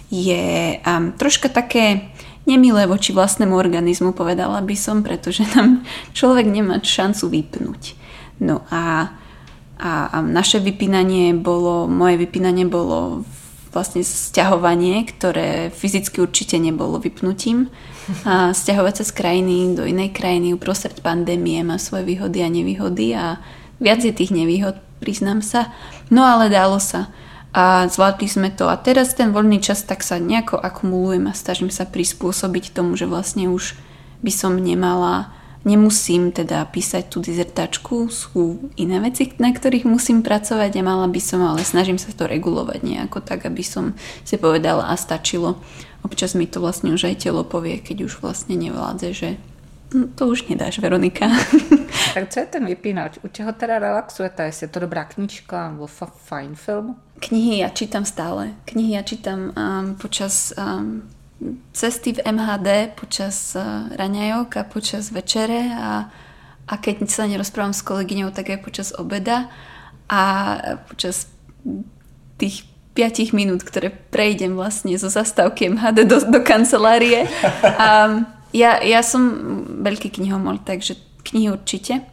je um, troška také nemilé voči vlastnému organizmu, povedala by som, pretože tam človek nemá šancu vypnúť. No a, a, a naše vypínanie bolo, moje vypínanie bolo vlastne sťahovanie, ktoré fyzicky určite nebolo vypnutím. A sťahovať sa z krajiny do inej krajiny uprostred pandémie má svoje výhody a nevýhody a viac je tých nevýhod, priznám sa. No ale dalo sa. A zvládli sme to a teraz ten voľný čas tak sa nejako akumulujem a snažím sa prispôsobiť tomu, že vlastne už by som nemala, nemusím teda písať tú dizertačku, sú iné veci, na ktorých musím pracovať a mala by som, ale snažím sa to regulovať nejako tak, aby som si povedala a stačilo. Občas mi to vlastne už aj telo povie, keď už vlastne nevládze, že no, to už nedáš, Veronika. Tak co je ten vypínač? U čeho teda relaxujete? Jestli je to dobrá knížka nebo fajn film? Knihy ja čítam stále. Knihy ja čítam um, počas um, cesty v em há dé, počas uh, raňajok a počas večere a, a keď sa nerozprávam s kolegyňou, tak aj počas obeda a počas tých piatich minút, ktoré prejdem vlastne zo zastávky em há dé do, do kancelárie. Um, ja, ja som veľký knihomol, takže knihy určite.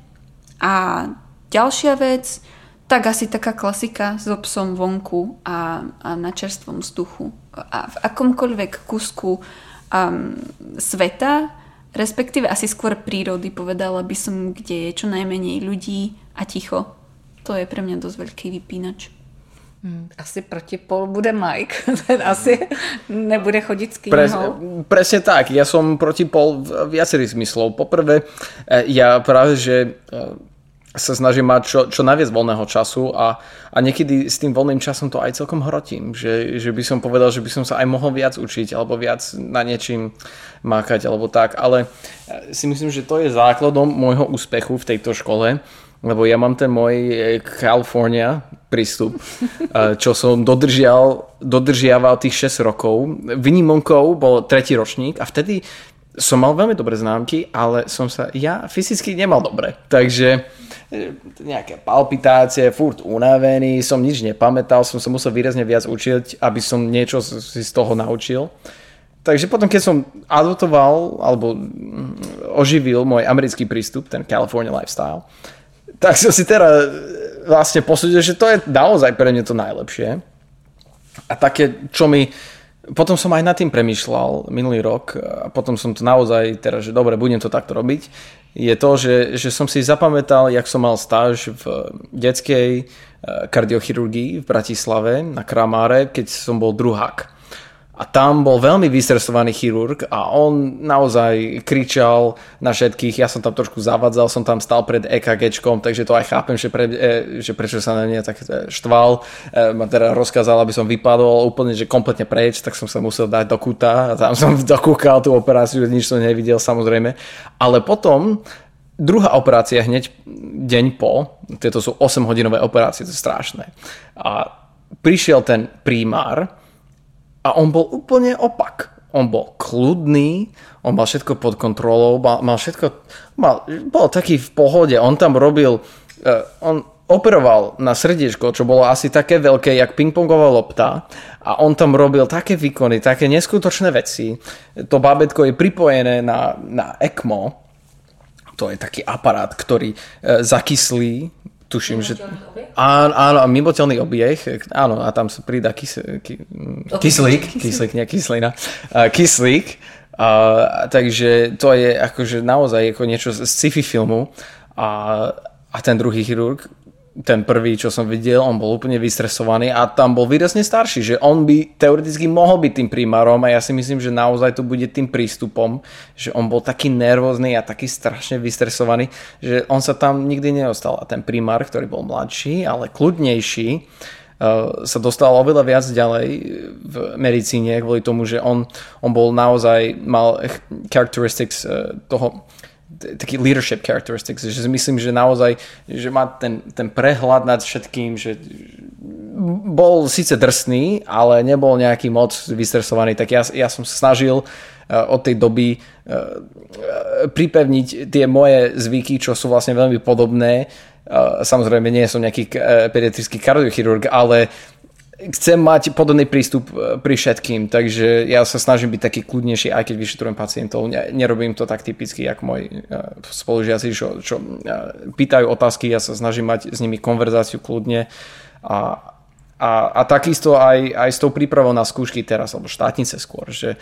A ďalšia vec, tak asi taká klasika so psom vonku a, a na čerstvom vzduchu. A v akomkoľvek kusku um, sveta, respektíve asi skôr prírody, povedala by som, kde je čo najmenej ľudí a ticho. To je pre mňa dosť veľký vypínač. Asi protipol bude Mike, ten asi nebude chodit s knihou. Pres, presne tak, ja som protipol viacerých zmyslov. Poprvé, ja práve, že sa snažím mať čo, čo najviac voľného času a, a niekedy s tým voľným časom to aj celkom hrotím, že, že by som povedal, že by som sa aj mohol viac učiť alebo viac na niečím mákať alebo tak, ale si myslím, že to je základom môjho úspechu v tejto škole, lebo ja mám ten môj California prístup, čo som dodržial, dodržiaval tých šesť rokov. Výnimkou bol tretí ročník a vtedy som mal veľmi dobré známky, ale som sa ja fyzicky nemal dobre. Takže nejaké palpitácie, furt unavený, som nič nepamätal, som sa musel výrazne viac učiť, aby som niečo si z toho naučil. Takže potom, keď som adoptoval alebo oživil môj americký prístup, ten California lifestyle, tak som si teraz vlastne posúdil, že to je naozaj pre mňa to najlepšie. A také, čo mi... Potom som aj nad tým premýšľal minulý rok a potom som to naozaj teraz, že dobre, budem to takto robiť, je to, že, že som si zapamätal, jak som mal stáž v detskej kardiochirurgii v Bratislave na Kramáre, keď som bol druhák. A tam bol veľmi vystresovaný chirurg a on naozaj kričal na všetkých. Ja som tam trošku zavadzal, som tam stal pred EKGčkom, takže to aj chápem, že, pre, že prečo sa na mňa tak štval. Ma teda rozkázal, aby som vypadol úplne, že kompletne preč, tak som sa musel dať do kúta a tam som dokúkal tú operáciu, nič som nevidel samozrejme. Ale potom druhá operácia hneď deň po, tieto sú osemhodinové operácie, to je strašné. A prišiel ten primár, a on bol úplne opak. On bol kľudný, on mal všetko pod kontrolou, mal, mal všetko, mal, bol taký v pohode. On tam robil, uh, on operoval na srdiečko, čo bolo asi také veľké, jak pingpongová lopta. A on tam robil také výkony, také neskutočné veci. To bábätko je pripojené na, na ECMO. To je taký aparát, ktorý uh, zakyslí. Tuším, že... Áno, áno, mimotelný obieh, áno, a tam sa pridá kys, ky, kyslík, kyslík, nie kyslina, uh, kyslík, uh, takže to je akože naozaj ako niečo z sci-fi filmu a, a ten druhý chirurg, ten prvý, čo som videl, on bol úplne vystresovaný a tam bol výrazne starší, že on by teoreticky mohol byť tým primárom a ja si myslím, že naozaj to bude tým prístupom, že on bol taký nervózny a taký strašne vystresovaný, že on sa tam nikdy neostal a ten primár, ktorý bol mladší, ale kľudnejší, sa dostal oveľa viac ďalej v medicíne kvôli tomu, že on, on bol naozaj, mal characteristics toho taký leadership characteristics, že myslím, že naozaj, že má ten, ten prehľad nad všetkým, že bol síce drsný, ale nebol nejaký moc vystresovaný, tak ja, ja som sa snažil uh, od tej doby uh, pripevniť tie moje zvyky, čo sú vlastne veľmi podobné. Uh, samozrejme, nie som nejaký uh, pediatrický kardiochirurg, ale chcem mať podobný prístup pri všetkým, takže ja sa snažím byť taký kľudnejší, aj keď vyšetrujem pacientov. Nerobím to tak typicky, ako moji spolužiaci, čo, čo pýtajú otázky, ja sa snažím mať s nimi konverzáciu kľudne a, a, a takisto aj, aj s tou prípravou na skúšky teraz, alebo štátnice skôr, že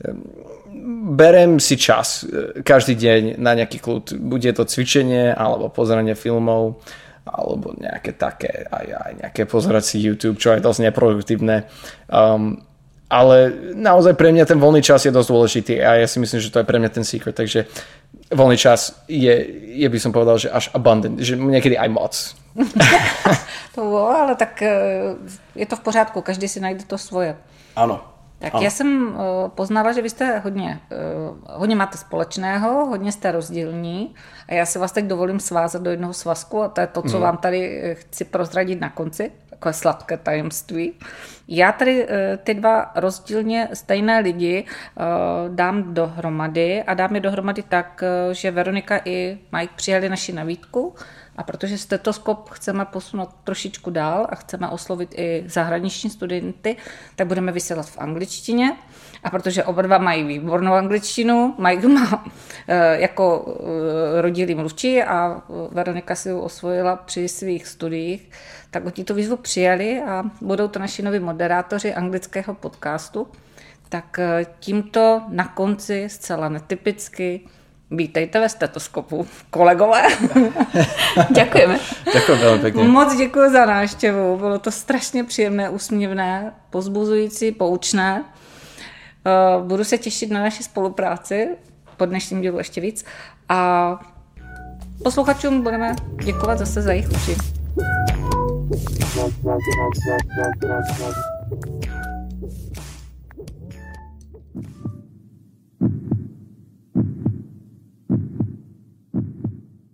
berem si čas každý deň na nejaký kľud. Bude to cvičenie alebo pozeranie filmov, alebo nejaké také, aj, aj nejaké pozerať si YouTube, čo je dosť neproduktívne. Um, ale naozaj pre mňa ten voľný čas je dosť dôležitý a ja si myslím, že to je pre mňa ten secret, takže voľný čas je, je by som povedal, že až abundant, že niekedy aj moc. To bolo, ale tak je to v pořádku, každý si najde to svoje. Ano. Tak ano. Já jsem poznala, že vy jste hodně, hodně máte společného, hodně jste rozdílní a já si vás teď dovolím svázat do jednoho svazku a to je to, co mm. vám tady chci prozradit na konci, takové sladké tajemství. Já tady ty dva rozdílně stejné lidi dám dohromady a dám je dohromady tak, že Veronika i Mike přijali naši nabídku. A protože stetoskop chceme posunout trošičku dál a chceme oslovit i zahraniční studenty, tak budeme vysílat v angličtině. A protože oba dva mají výbornou angličtinu, Mike má e, jako e, rodilý mluvčí a Veronika si ji osvojila při svých studiích, tak oni tu výzvu přijali a budou to naši noví moderátoři anglického podcastu. Tak tímto na konci zcela netypicky vítejte ve stetoskopu, kolegové. Děkujeme. Děkuji velmi pěkně. Moc děkuji za návštěvu, bylo to strašně příjemné, úsměvné, pozbuzující, poučné. Budu se těšit na naši spolupráci, po dnešním dílu ještě víc. A posluchačům budeme děkovat zase za jejich uši.